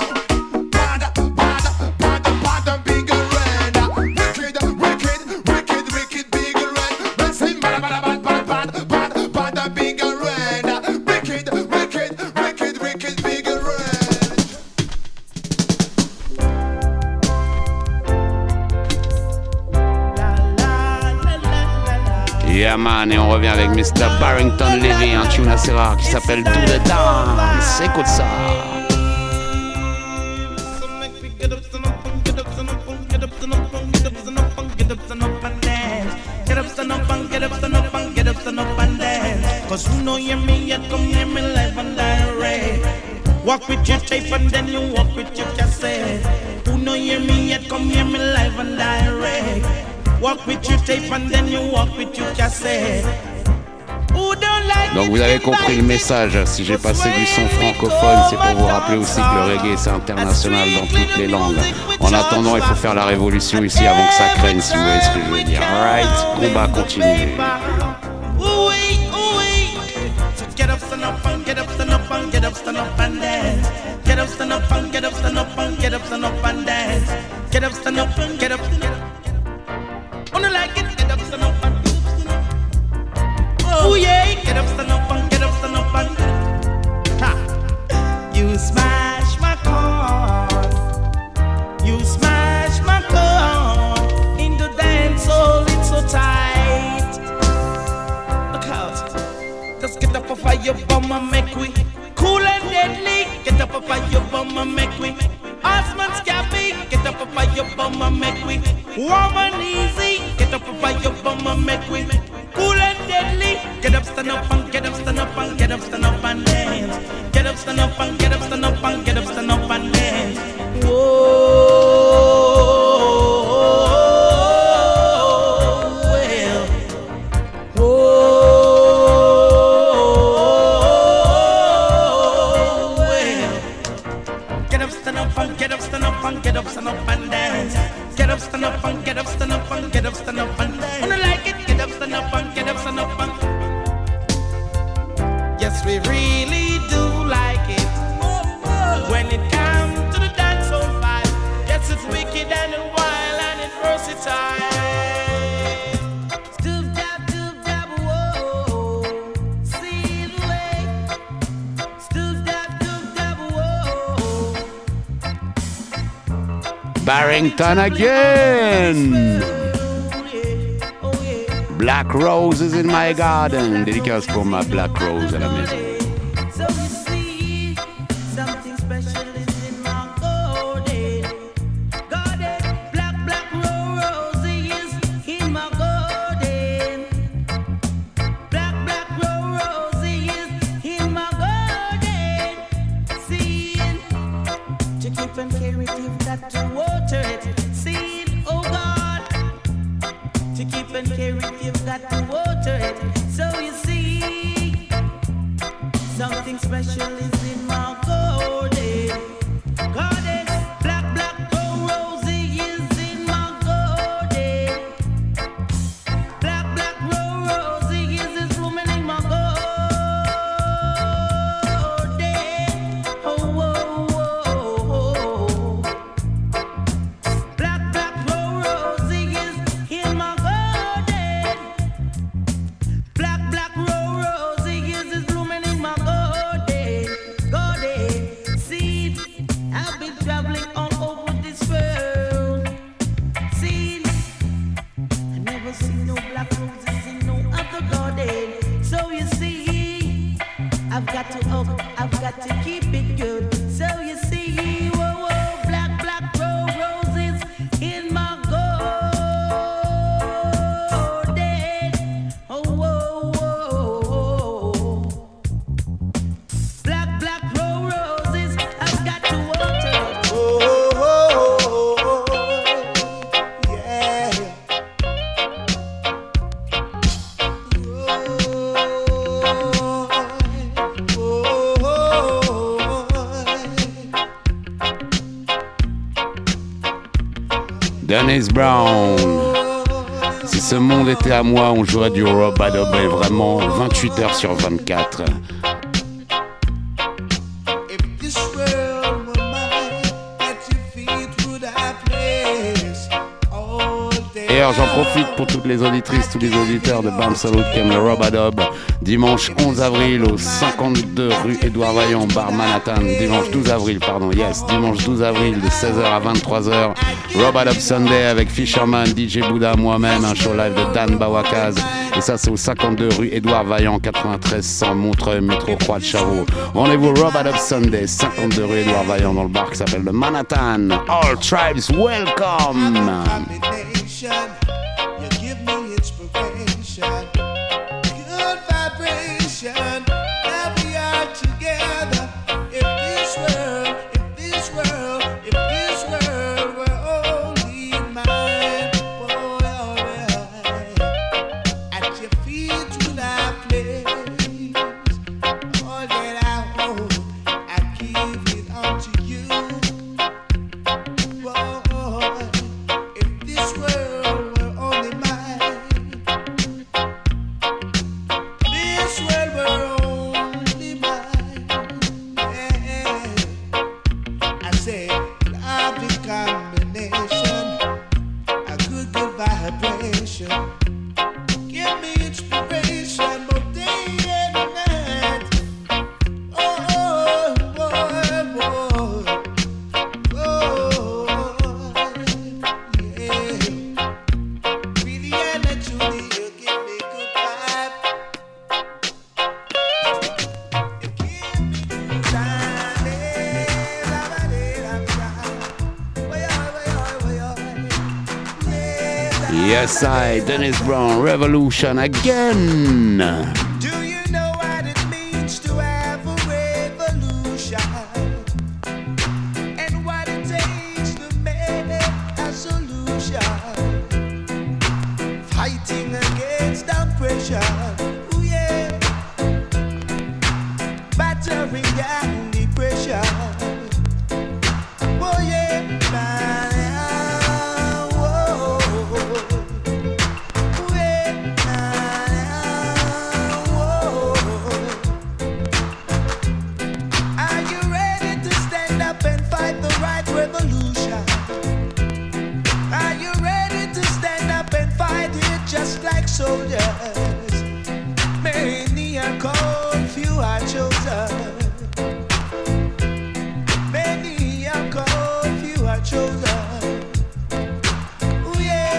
Speaker 16: Yeah man, et on revient avec Mr. Barrington Levy, un tune assez rare qui s'appelle Do the Dance. Écoute ça.
Speaker 8: Cause who know you me yet come near me live and direct. Walk with your tape and then you walk with your cassette. Who know you me yet come near me live and direct. Walk with your tape and then you walk with your cassette.
Speaker 16: Donc vous avez compris le message, si j'ai passé du son francophone, c'est pour vous rappeler aussi que le reggae c'est international dans toutes les langues. En attendant, il faut faire la révolution ici avant que ça craigne, si vous voyez ce que je veux dire. Alright, combat continue.
Speaker 8: Get up, stand up and get up, stand up and get up, stand up and dance. Get up, stand up and get up, stand up and get up, stand up and dance. Get up, stand up and get up, stand up. Wanna like it? Get up, stand up and oh yeah, get up, stand up and get up, stand up and ha. You smash my car, you smash my car. In the dance hall, it's so tight. Look out. Just get up off of your bum and make we cool and deadly. Get up off of your bum and make we Osman Scabby. Get up off of your bum and make we warm and easy. Get up off of your bum and make we cool and deadly. Get up, stand up and get up, stand up and get up, stand up and dance. Get up, stand up and get up, stand up and get up, stand up and dance. Whoa. Get up, stand up and dance. Get up, stand up and get up, stand up and get up, stand up and dance. Wanna like it? Get up, stand up and get up, stand up and. Yes, we really do like it. When it comes to the dancehall vibe, yes, it's wicked and wild and it's versatile.
Speaker 16: Barrington again. Black Rose is in my garden. Dédicace pour ma Black Rose à la maison.
Speaker 8: So you see, something special is in my garden. Garden, black, black rose is To keep and care it, you've got to water it. So you see, something special is in my garden. Garden, black, black, rosy is in my garden. Black, black, rosy is blooming in my garden. Oh, oh, oh, oh. Black, black, rosy is in my garden. Black, black, rosy is blooming in my garden. Garden, see, I've been traveling all over this world. See, I never seen no black roses in no other garden. So you see, I've got to keep it good. So you see, whoa, whoa, black, black roses in my garden. Oh, whoa, whoa, black, black roses, I've got to water.
Speaker 16: Dennis Brown. Si ce monde était à moi, on jouerait du Rob Adobe vraiment 28 heures sur 24.
Speaker 12: This world were mine, at your feet would I place all day.
Speaker 16: Et alors j'en profite pour toutes les auditrices, tous les auditeurs de Bam Salut qui aiment le Rob Adobe. Dimanche 11 avril au 52 rue Édouard Vaillant, bar Manhattan. Dimanche 12 avril, pardon, yes. Dimanche 12 avril de 16h à 23h. Rob Adobe Sunday avec Fisherman, DJ Bouddha, moi-même, un show live de Dan Bawakaz. Et ça c'est au 52 rue Édouard Vaillant, 93 100 Montreuil, métro Croix de Chavaux. Rendez-vous Rob Adobe Sunday, 52 rue Édouard Vaillant dans le bar qui s'appelle le Manhattan. All tribes welcome.
Speaker 12: You give me inspiration, good vibration. Now we are together. If this world were only mine, boy, at your feet would I place all that I hold. I give it unto you, boy. If this world were only mine, this world were only mine. Yeah. I say, lovely combination, a good vibration. Give me inspiration both day and night. Oh, boy, boy, yeah. Really and truly, you give me good vibe. You give me time,
Speaker 16: Yes, I, Dennis Brown, Revolution again.
Speaker 12: Do you know what it means to have a revolution? And what it takes to make a solution? Fighting against oppression. Ooh, yeah. Battering down depression. Oh, yeah. Are you ready to stand up and fight the right revolution? Are you ready to stand up and fight it just like soldiers? Many are called, few are chosen. Many are called, few are chosen. Ooh, yeah.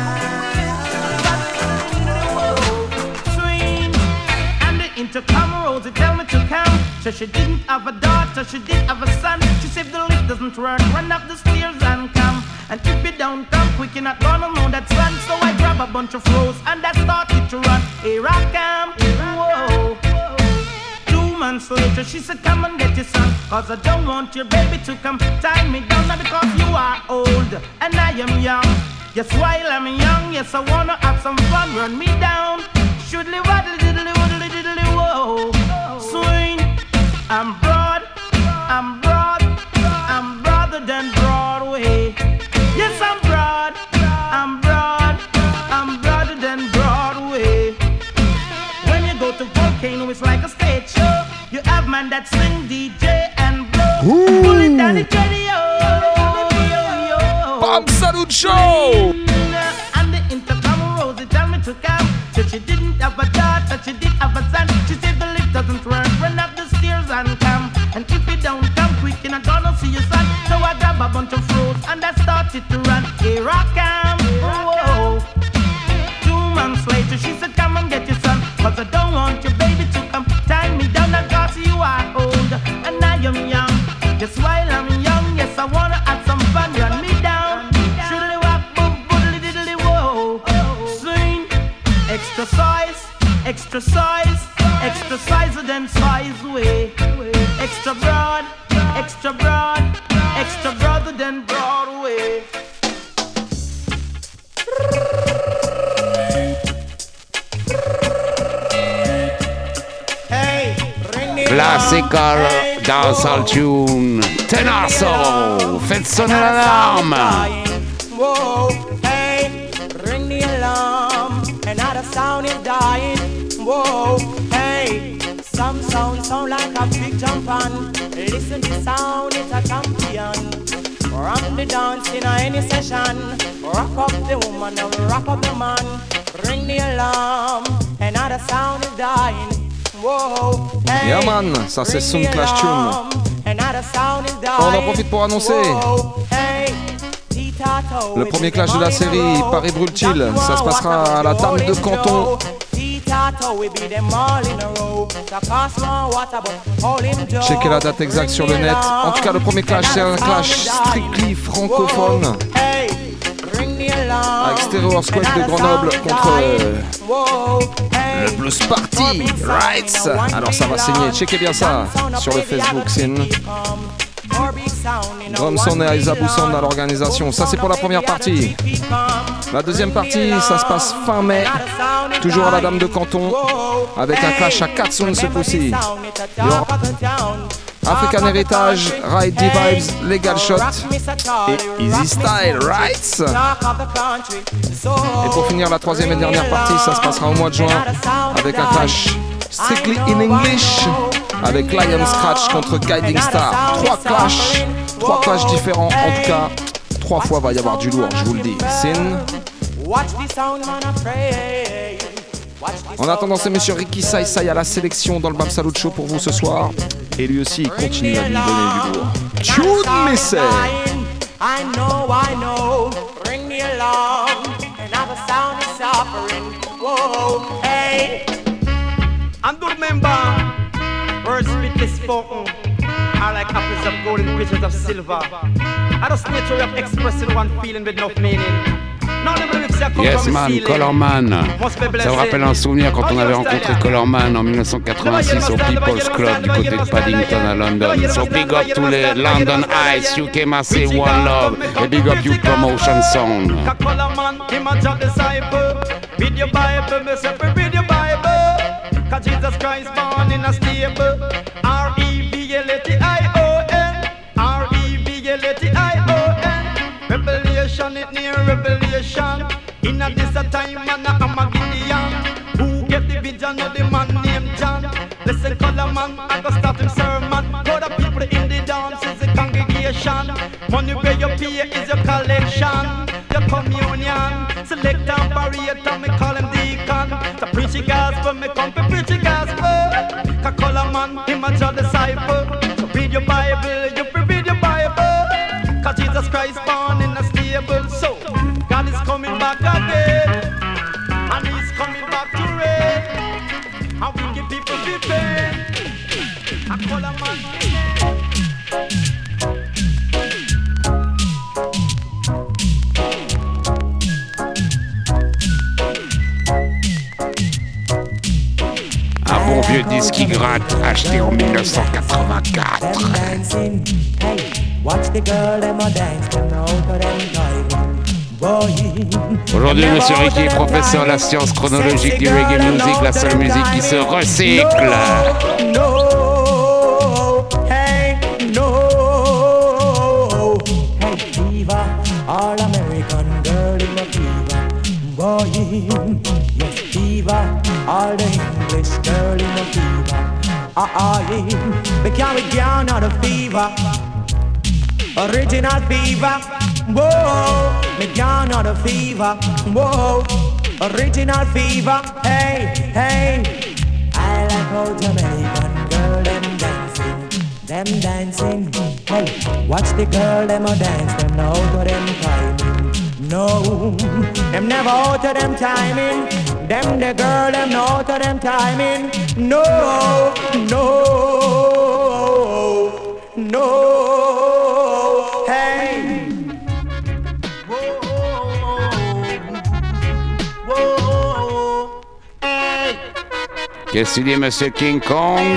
Speaker 8: Swing and the intercom Rosie tell me to come. So she didn't have a daughter, she did have a son. She said the lift doesn't work, run up the stairs and come. And if you don't come quick, you're not gonna know that's run. So I grab a bunch of rose and I started to run. Here I come, whoa. 2 months months later, she said, come and get your son, cause I don't want your baby to come tie me down. Not because you are old and I am young. Yes, while I'm young, yes, I wanna have some fun. Run me down. Shoodly waddly diddly woodly diddly whoa. Swing. I'm broad, I'm broad, I'm broader than Broadway. Yes, I'm broad, I'm broad, I'm broader than Broadway. When you go to Volcano, it's like a stage show. You have man that sing, DJ and blow. Pull it down the radio.
Speaker 7: Bam Salut Show!
Speaker 8: And the intercom Rosie tell me to come. That she didn't have a daughter, that she did have a son. She said the lift doesn't work, run up the stairs and come. And if you don't come quick, you're not gonna see your son. So I grab a bunch of fruits and I started to run. Here I come, whoa. 2 months later, she said, come and get your son, cause I don't want your baby to come tie me down. Cause you are old and I am young. Just while I'm young, yes, I wanna have some fun. Run me down, shoodly wop, boom, boodly diddly whoa. Swing, extra size, extra size, extra size than size way. Extra broad, extra broad, extra broader than Broadway.
Speaker 16: Classical dancehall tune. Tenazo, faites sonner l'alarme.
Speaker 15: Whoa, hey, ring the alarm. Another sound is dying. Whoa, hey, some sound like a big jump on. Listen, the sound is a champion. Ram the dance in any session. Rock up the woman and rock up the man. Ring the alarm. Another sound is dying. Whoa, hey,
Speaker 7: Yeah man, ça c'est Sound Clash Tune. On en profite pour annoncer le premier clash de la série, Paris Brûle-t-il. Ça se passera à la Dame de Canton. Checkez la date exacte sur le net. En tout cas, le premier clash, c'est un clash strictly francophone. Avec Stereo Earthquake de Grenoble contre le Blues Party Rights. Alors ça va saigner, checkez bien ça sur le Facebook Scene. Drumson et Aizabu Sound à l'organisation. Ça c'est pour la première partie. La deuxième partie, ça se passe fin mai, toujours à la Dame de Canton, avec un clash à 4 zones ce coup-ci. African Heritage, Ride D-Vibes, Legal Shot et Easy Style Rights. Et pour finir la troisième et dernière partie, ça se passera au mois de juin avec un clash strictly in English avec Lion Scratch contre Guiding Star. 3 clashs différents, en tout cas 3 fois va y avoir du lourd, je vous le dis. Sin. En attendant, c'est monsieur Ricky Sai à la sélection dans le Bam Salut Show pour vous ce soir. Et lui aussi, il continue à lui donner du lourd. Tune me say.
Speaker 15: I know, ring the alarm. Another sound is suffering. Whoa, hey.
Speaker 19: And do remember, words speak spoken are like apples of gold and pieces of silver. I just nature of expressing one feeling with no meaning.
Speaker 16: Yes man, Colorman. Ça me rappelle un souvenir quand on avait rencontré Colorman en 1986 au People's Club du côté de Paddington à London. So big up to les London Eyes, UK Massive One Love, et big up you Promotion Song.
Speaker 19: Colorman, him a job disciple. Read your Bible, me say read your Bible. Cause Jesus Christ born in a stable. R-E-V-L-A-T-I-O-N, R-E-V-L-A-T-I-O-n. Revelation, it near revelation. In a this a time, man, I'm a Gideon. Who get the vision of the man named John? Listen, color man, I go start him sermon. All the people in the dance is a congregation. Money where you pay is your collection. Your communion. Select and barrier, me call him deacon. To preach the gospel, me come to preach the gospel. Cause color man, him a your disciple. So read your Bible, you read your Bible. Cause Jesus Christ born in a stable. So God is coming back again, and he's coming back to reign. And we give people the pain. I call a man.
Speaker 16: vieux disque qui gratte, acheté en 1984. Aujourd'hui, Monsieur Ricky, professeur de la science chronologique du reggae music, la seule musique qui se recycle.
Speaker 15: All American girl in a fever, boy. Yes, fever. All the English girl in a fever. They carry down on a fever. Original fever. Whoa, me down on a fever. Whoa, original fever. Hey, hey. I like how Jamaican girl them dancing. Hey, watch the girl them a dance, them no out of them timing. No, them never out of them timing. Them the girl them no out of them timing. No, no, no. Hey, whoa, whoa, hey.
Speaker 16: Qu'est-ce que tu dis, Monsieur King Kong?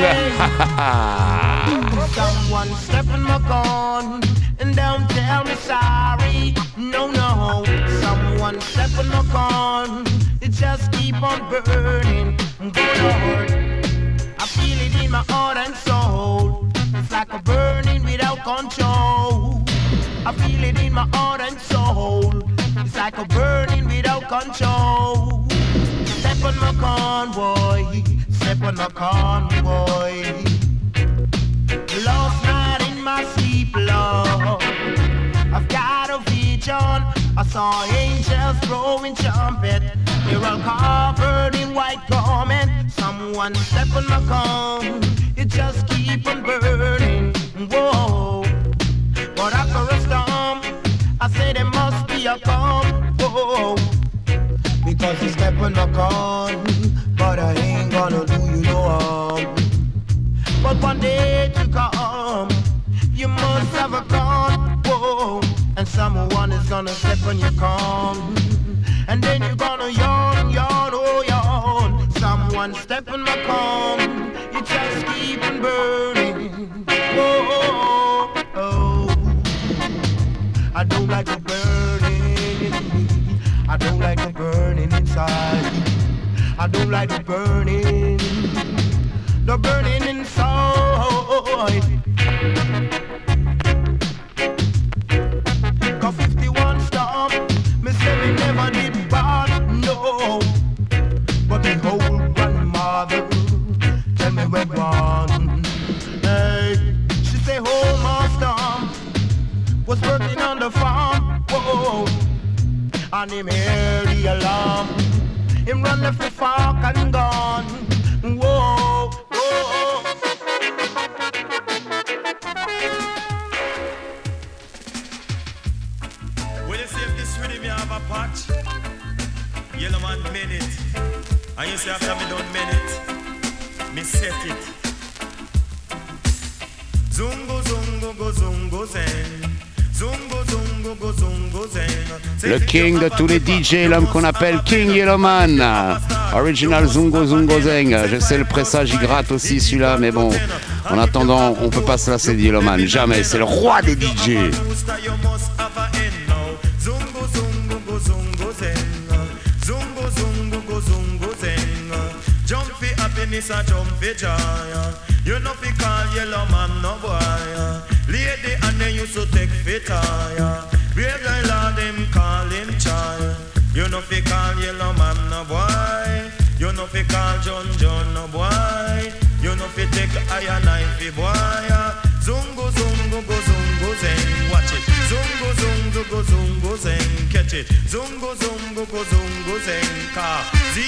Speaker 6: Someone step in my gun and don't tell me sorry. No, no. Someone step in my gun. It just keep on burning. Good Lord, I feel it in my heart and soul. It's like a burning without control. I feel it in my heart and soul. It's like a burning without control. Step on my convoy. Step on my convoy. Last night in my sleep, Lord, I've got a vision. I saw angels blowing trumpet. They're all covered in white garment. Someone step on my gun. It just keep on burning. Whoa. But after a storm, I say there must be a calm. Whoa. Because you step on my gun, but I ain't gonna do you no harm. But one day to come, you must have a gun, whoa. And someone is gonna step on your con. And then you're gonna yawn, yawn, oh yawn. Someone step on my con. You just keep on burning, oh, oh, oh. I don't like the burning. I don't like the burning inside. I don't like the burning. The burning inside. Cause 51 storm, me say me never did bad, no. But me whole grandmother tell me we're gone. Hey, she say whole my storm was working on the farm, whoa. And him hear the alarm, him run left the fork and gone, whoa.
Speaker 9: Well, you see if this rhythm you have a patch, Yellow Man made it. And you see after me done made it, me set it. Zungo, zungo, go zungo zen. Zungo, zungo, go zungo zen.
Speaker 16: Le king de tous les DJ, l'homme qu'on appelle King Yellowman. Original Zungo Zungo Zeng. Je sais, le pressage il gratte aussi celui-là, mais bon, en attendant, on peut pas se lasser de Yellowman. Jamais, c'est le roi des DJ.
Speaker 9: You know fi call Yellowman no boy. Lady and then used to take fit higher. Brave guy lord them call him child. You know fi call Yellowman no boy. You know fi call John no boy. You know fi take iron knife boy. Zungo zungo go zungo zeng. Watch it. Zungo zungo go zungo zeng. Catch it. Zungo zungo go zungo zeng. Car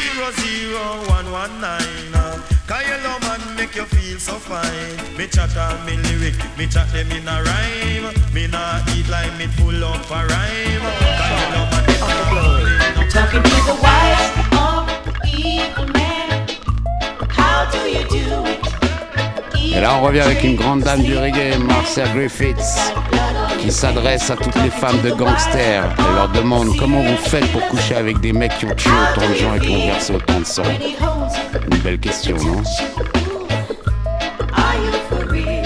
Speaker 9: 00119. Cause Yellowman make you feel so fine. Me chat all me lyric, me chat them in a rhyme. Me nah eat like me full up a rhyme. Cause Yellowman is
Speaker 23: talking to the wife of evil man. How do you do it?
Speaker 16: Et là on revient avec une grande dame du reggae, Marcia Griffiths. qui s'adresse à toutes les femmes de gangsters. Elle leur demande comment vous faites pour coucher avec des mecs qui ont tué autant de gens et qui ont versé autant de sang. Une belle question, non?
Speaker 23: Are you for real?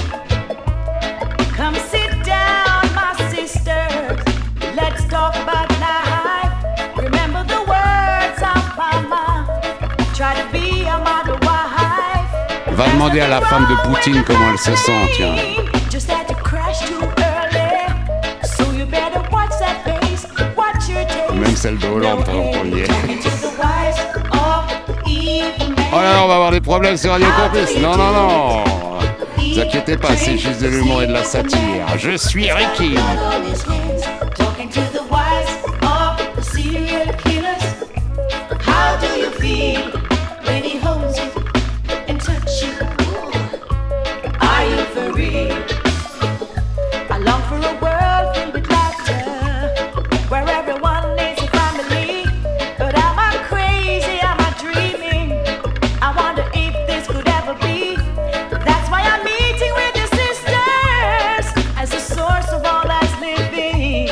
Speaker 23: Come sit down, my sister. Let's talk about life. Remember the words of mama. Try to be a model wife.
Speaker 16: Va demander à la femme de Poutine comment elle se sent, tiens.
Speaker 23: Just had to crash too early. So you better watch that pace. Watch your taste.
Speaker 16: Même celle de Hollande, par exemple, on y est.
Speaker 23: To the wise of evil men.
Speaker 16: Oh là là, on va avoir des problèmes sur Radio Campus. Non, non, non. Ne vous inquiétez pas, c'est juste de l'humour et de la satire. Je suis Ricky.
Speaker 23: Talking to the wise of the serial killers. How do you feel when he holds you and touches you? Are you for real? I long for a world filled with laughter, where everyone is a family. But am I crazy? Am I dreaming? I wonder if this could ever be. That's why I'm meeting with the sisters as the source of all that's living.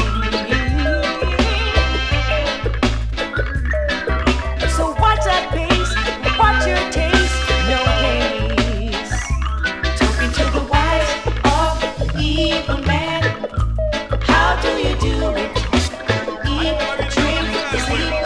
Speaker 23: So watch that pace, watch your taste, no haste. Talking to the wise of the evil man. How do you do it? Eat, drink, sleep,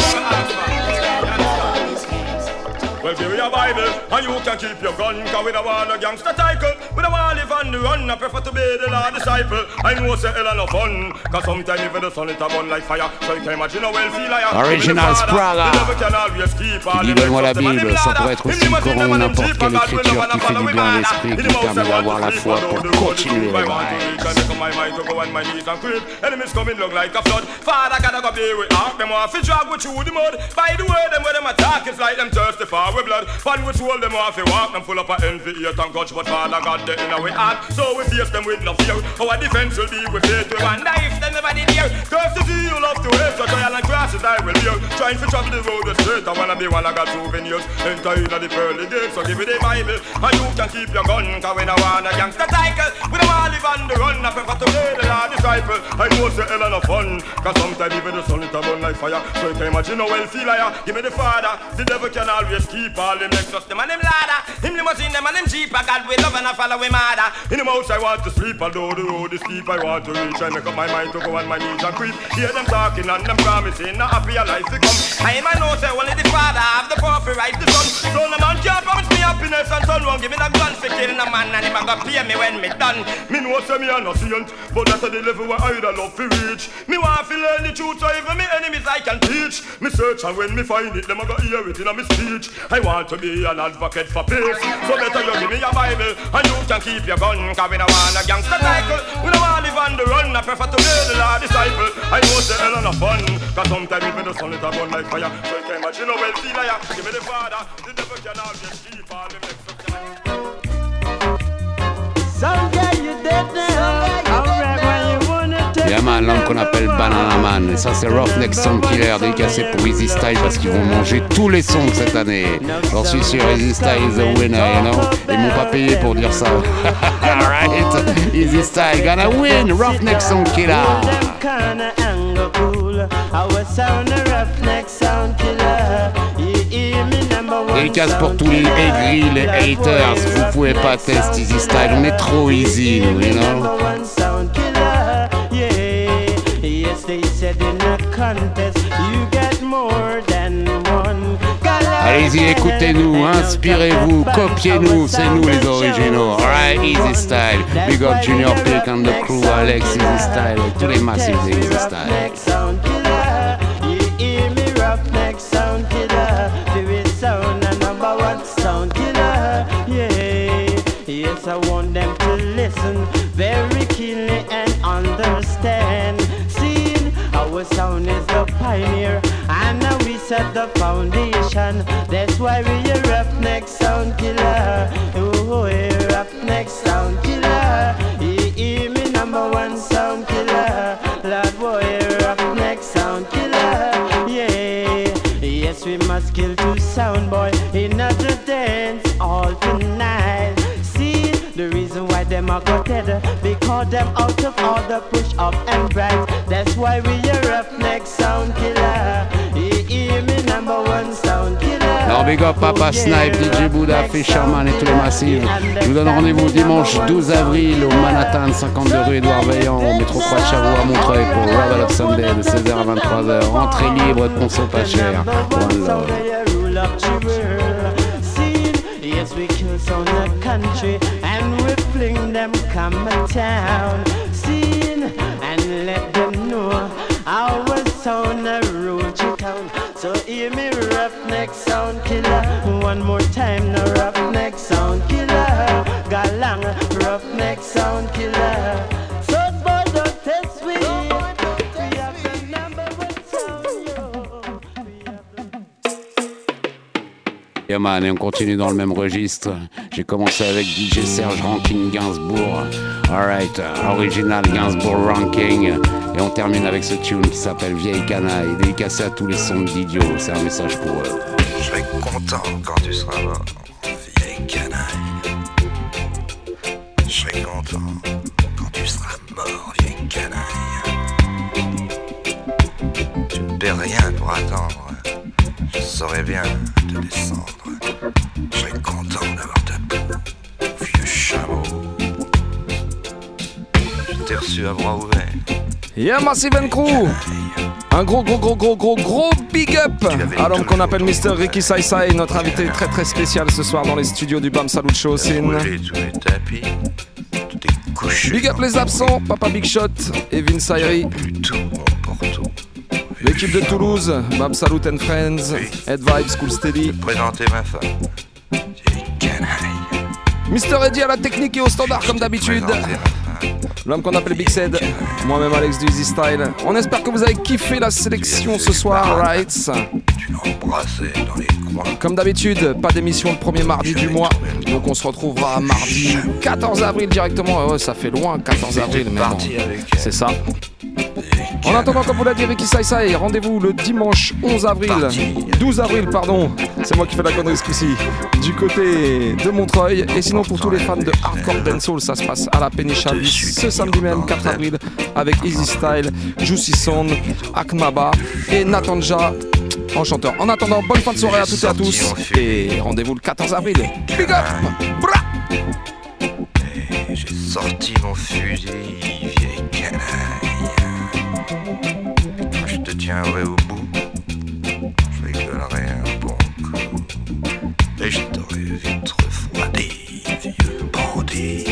Speaker 9: Well, give me your Bible, and you can keep your gun, cause we don't want a gangster title. We don't want to live on the run, I prefer to be the Lord disciple. I know say hell no fun, cause sometimes even the sun it a burn like fire. So you can imagine how well feel like
Speaker 16: Original Spraga. Qui dit donne-moi la Bible, ça pourrait être aussi le Coran ou n'importe quelle écriture qui fait du bien à l'esprit, qui permet d'avoir la foi pour continuer.
Speaker 9: Enemies coming look like a flood. Father gotta go be with ark. Them off, drag with through the mud. By the way, them where them attack, it's like them thirsty for with blood. Fun with soul, them off, walk. Them full up of envy, hate and grudge. But Father God, they in our heart. So we face them with no fear. Our defense will be with faith. We want knife, them never did hear. Curse to see you love to hate. So trial and crosses I will hear. Trying to travel the road straight. I wanna be one I got souvenirs. Enter in the pearly gates. So give me the Bible. And you can keep your gun. Cause we don't want a gangster title. We don't want to live on the run. I prefer to be the Lord disciple. I know say hell no fun. Cause sometimes even the sun it a burn like fire. So you can imagine how well feel higher. Give me the Father. The devil can always keep all them next. Them and them ladder. Him limousine them and them jeep. I God we love and I follow we mother. In the house I want to sleep. Although the road is steep I want to reach. I make up my mind to go on my knees and creep. Hear them talking and them promising. Not happy a life to come. I in my nose say only the Father have the power to write the son. So no man can't promise me happiness and son won't give me the gun for killing a man. And him a go pay me when me done. Me know say me a no saint. But that's the level where I love to reach. Me want to learn the truth so even me enemies I can teach. Me search and when me find it, them a go hear it in a me speech. I want to be an advocate for peace. So better you give me a Bible and you can keep your gun. Cause we don't want a gangster title. We don't want to live on the run. I prefer to be the Lord disciple. I know say hell no fun. Cause sometimes even the sun it a burn like fire. So you can imagine how well feel like. Give me the Father. The devil can always keep all the next of them.
Speaker 8: Some guy you dead now. Alright, when you wanna take.
Speaker 16: Il y a un l'homme qu'on appelle Banana Man, et ça c'est Roughneck Soundkiller, dédicacé pour Easy Style parce qu'ils vont manger tous les sons cette année. J'en suis sûr, Easy Style is a winner, you know. Ils m'ont pas payé pour dire ça. Alright, Easy Style gonna win, Roughneck Soundkiller.
Speaker 8: Kinda anger cool. Our sound a Roughneck Soundkiller.
Speaker 16: Dédicace pour tous les aigris, les haters. Vous pouvez pas tester Easy Style, on est trop easy, nous, you know. Allez-y, écoutez-nous, inspirez-vous, copiez-nous, c'est nous les originaux. Alright, Easy Style. Big up Junior Peak and the crew, Alex, Easy Style, tous les massifs Easy Style.
Speaker 8: Roughneck Soundkiller, favorite sound and number one sound killer. Yeah, yes, I want them to listen very keenly and understand. Seeing our sound is the pioneer, and now we set the foundation. That's why we a Roughneck Soundkiller. Oh, a Roughneck Soundkiller. Hear me number one sound killer. Lord boy, Roughneck Soundkiller. Yes, we must kill to sound boy in the dance all tonight. See the reason why them a go dead. Because them out of order, push up and right. That's why we a roughneck sound killer. Hear me, number one sound killer.
Speaker 16: Alors big up Papa Snipe, DJ Bouddha, Fisherman et tous les massifs. Je vous donne rendez-vous dimanche 12 avril au Manhattan, 52 rue Édouard Vaillant, au métro Croix de Chavaux à Montreuil pour Revel of Sunday de 16h à 23h. Entrée libre, conso pas cher. One love.
Speaker 8: Yes, we kill on the country and we fling them come a town scene and let them know our sound a rule town. So hear me, roughneck sound killer. One more time, no roughneck sound killer. Galang, roughneck sound killer. So boy, don't test we. We have the number one sound,
Speaker 16: Yeah man, et on continue dans le même registre. J'ai commencé avec DJ Serge Ranking Gainsbourg. Alright, original Gainsbourg Ranking. Et on termine avec ce tune qui s'appelle Vieille Canaille, dédicacé à tous les sons d'idiots. C'est un message pour eux.
Speaker 17: Je serai content quand tu seras mort, vieille canaille. Je serai content quand tu seras mort, vieille canaille. Tu ne perds rien pour attendre, je saurais bien te descendre. Je serai content d'avoir ta peau, vieux chameau. Je t'ai reçu à bras ouverts.
Speaker 7: Yeah, Massive & Crew. Un gros big up à l'homme qu'on appelle Mr. Ricky Sai Sai, notre invité très très spécial ce soir dans les studios du Bam Salut Show. Big up les absents, Papa Big Shot et Vince Ayri. L'équipe de Toulouse, Bam Salut and Friends, Head Vibes, Cool Steady.
Speaker 17: Présenter ma femme.
Speaker 7: Mr. Eddie à la technique et au standard comme d'habitude. L'homme qu'on appelle Big Sed, moi-même Alex du Easy Style. On espère que vous avez kiffé la sélection ce soir, right? Comme d'habitude, pas d'émission le premier mardi du mois. Donc on se retrouvera mardi 14 avril directement. Ouais, ça fait loin, 14 avril, mais bon, c'est ça. En attendant, comme vous l'a dit Ricky Sai Sai, rendez-vous le dimanche 12 avril, pardon. C'est moi qui fais la connerie ce coup-ci. Du côté de Montreuil. Et sinon, pour tous les fans de hardcore dancehall, ça se passe à la Péniche ce samedi même, 4 avril, avec Easy Style, Juicy Sound, Akmaba et Natanja en chanteur. En attendant, bonne fin de soirée à toutes et à tous. Et rendez-vous le 14 avril. Big up! Bra!
Speaker 17: J'ai sorti mon fusil, vieille canaille. Je te tiendrai au bout, je rigolerai un bon coup. Et je t'aurai vite refroidi, vieux bandit.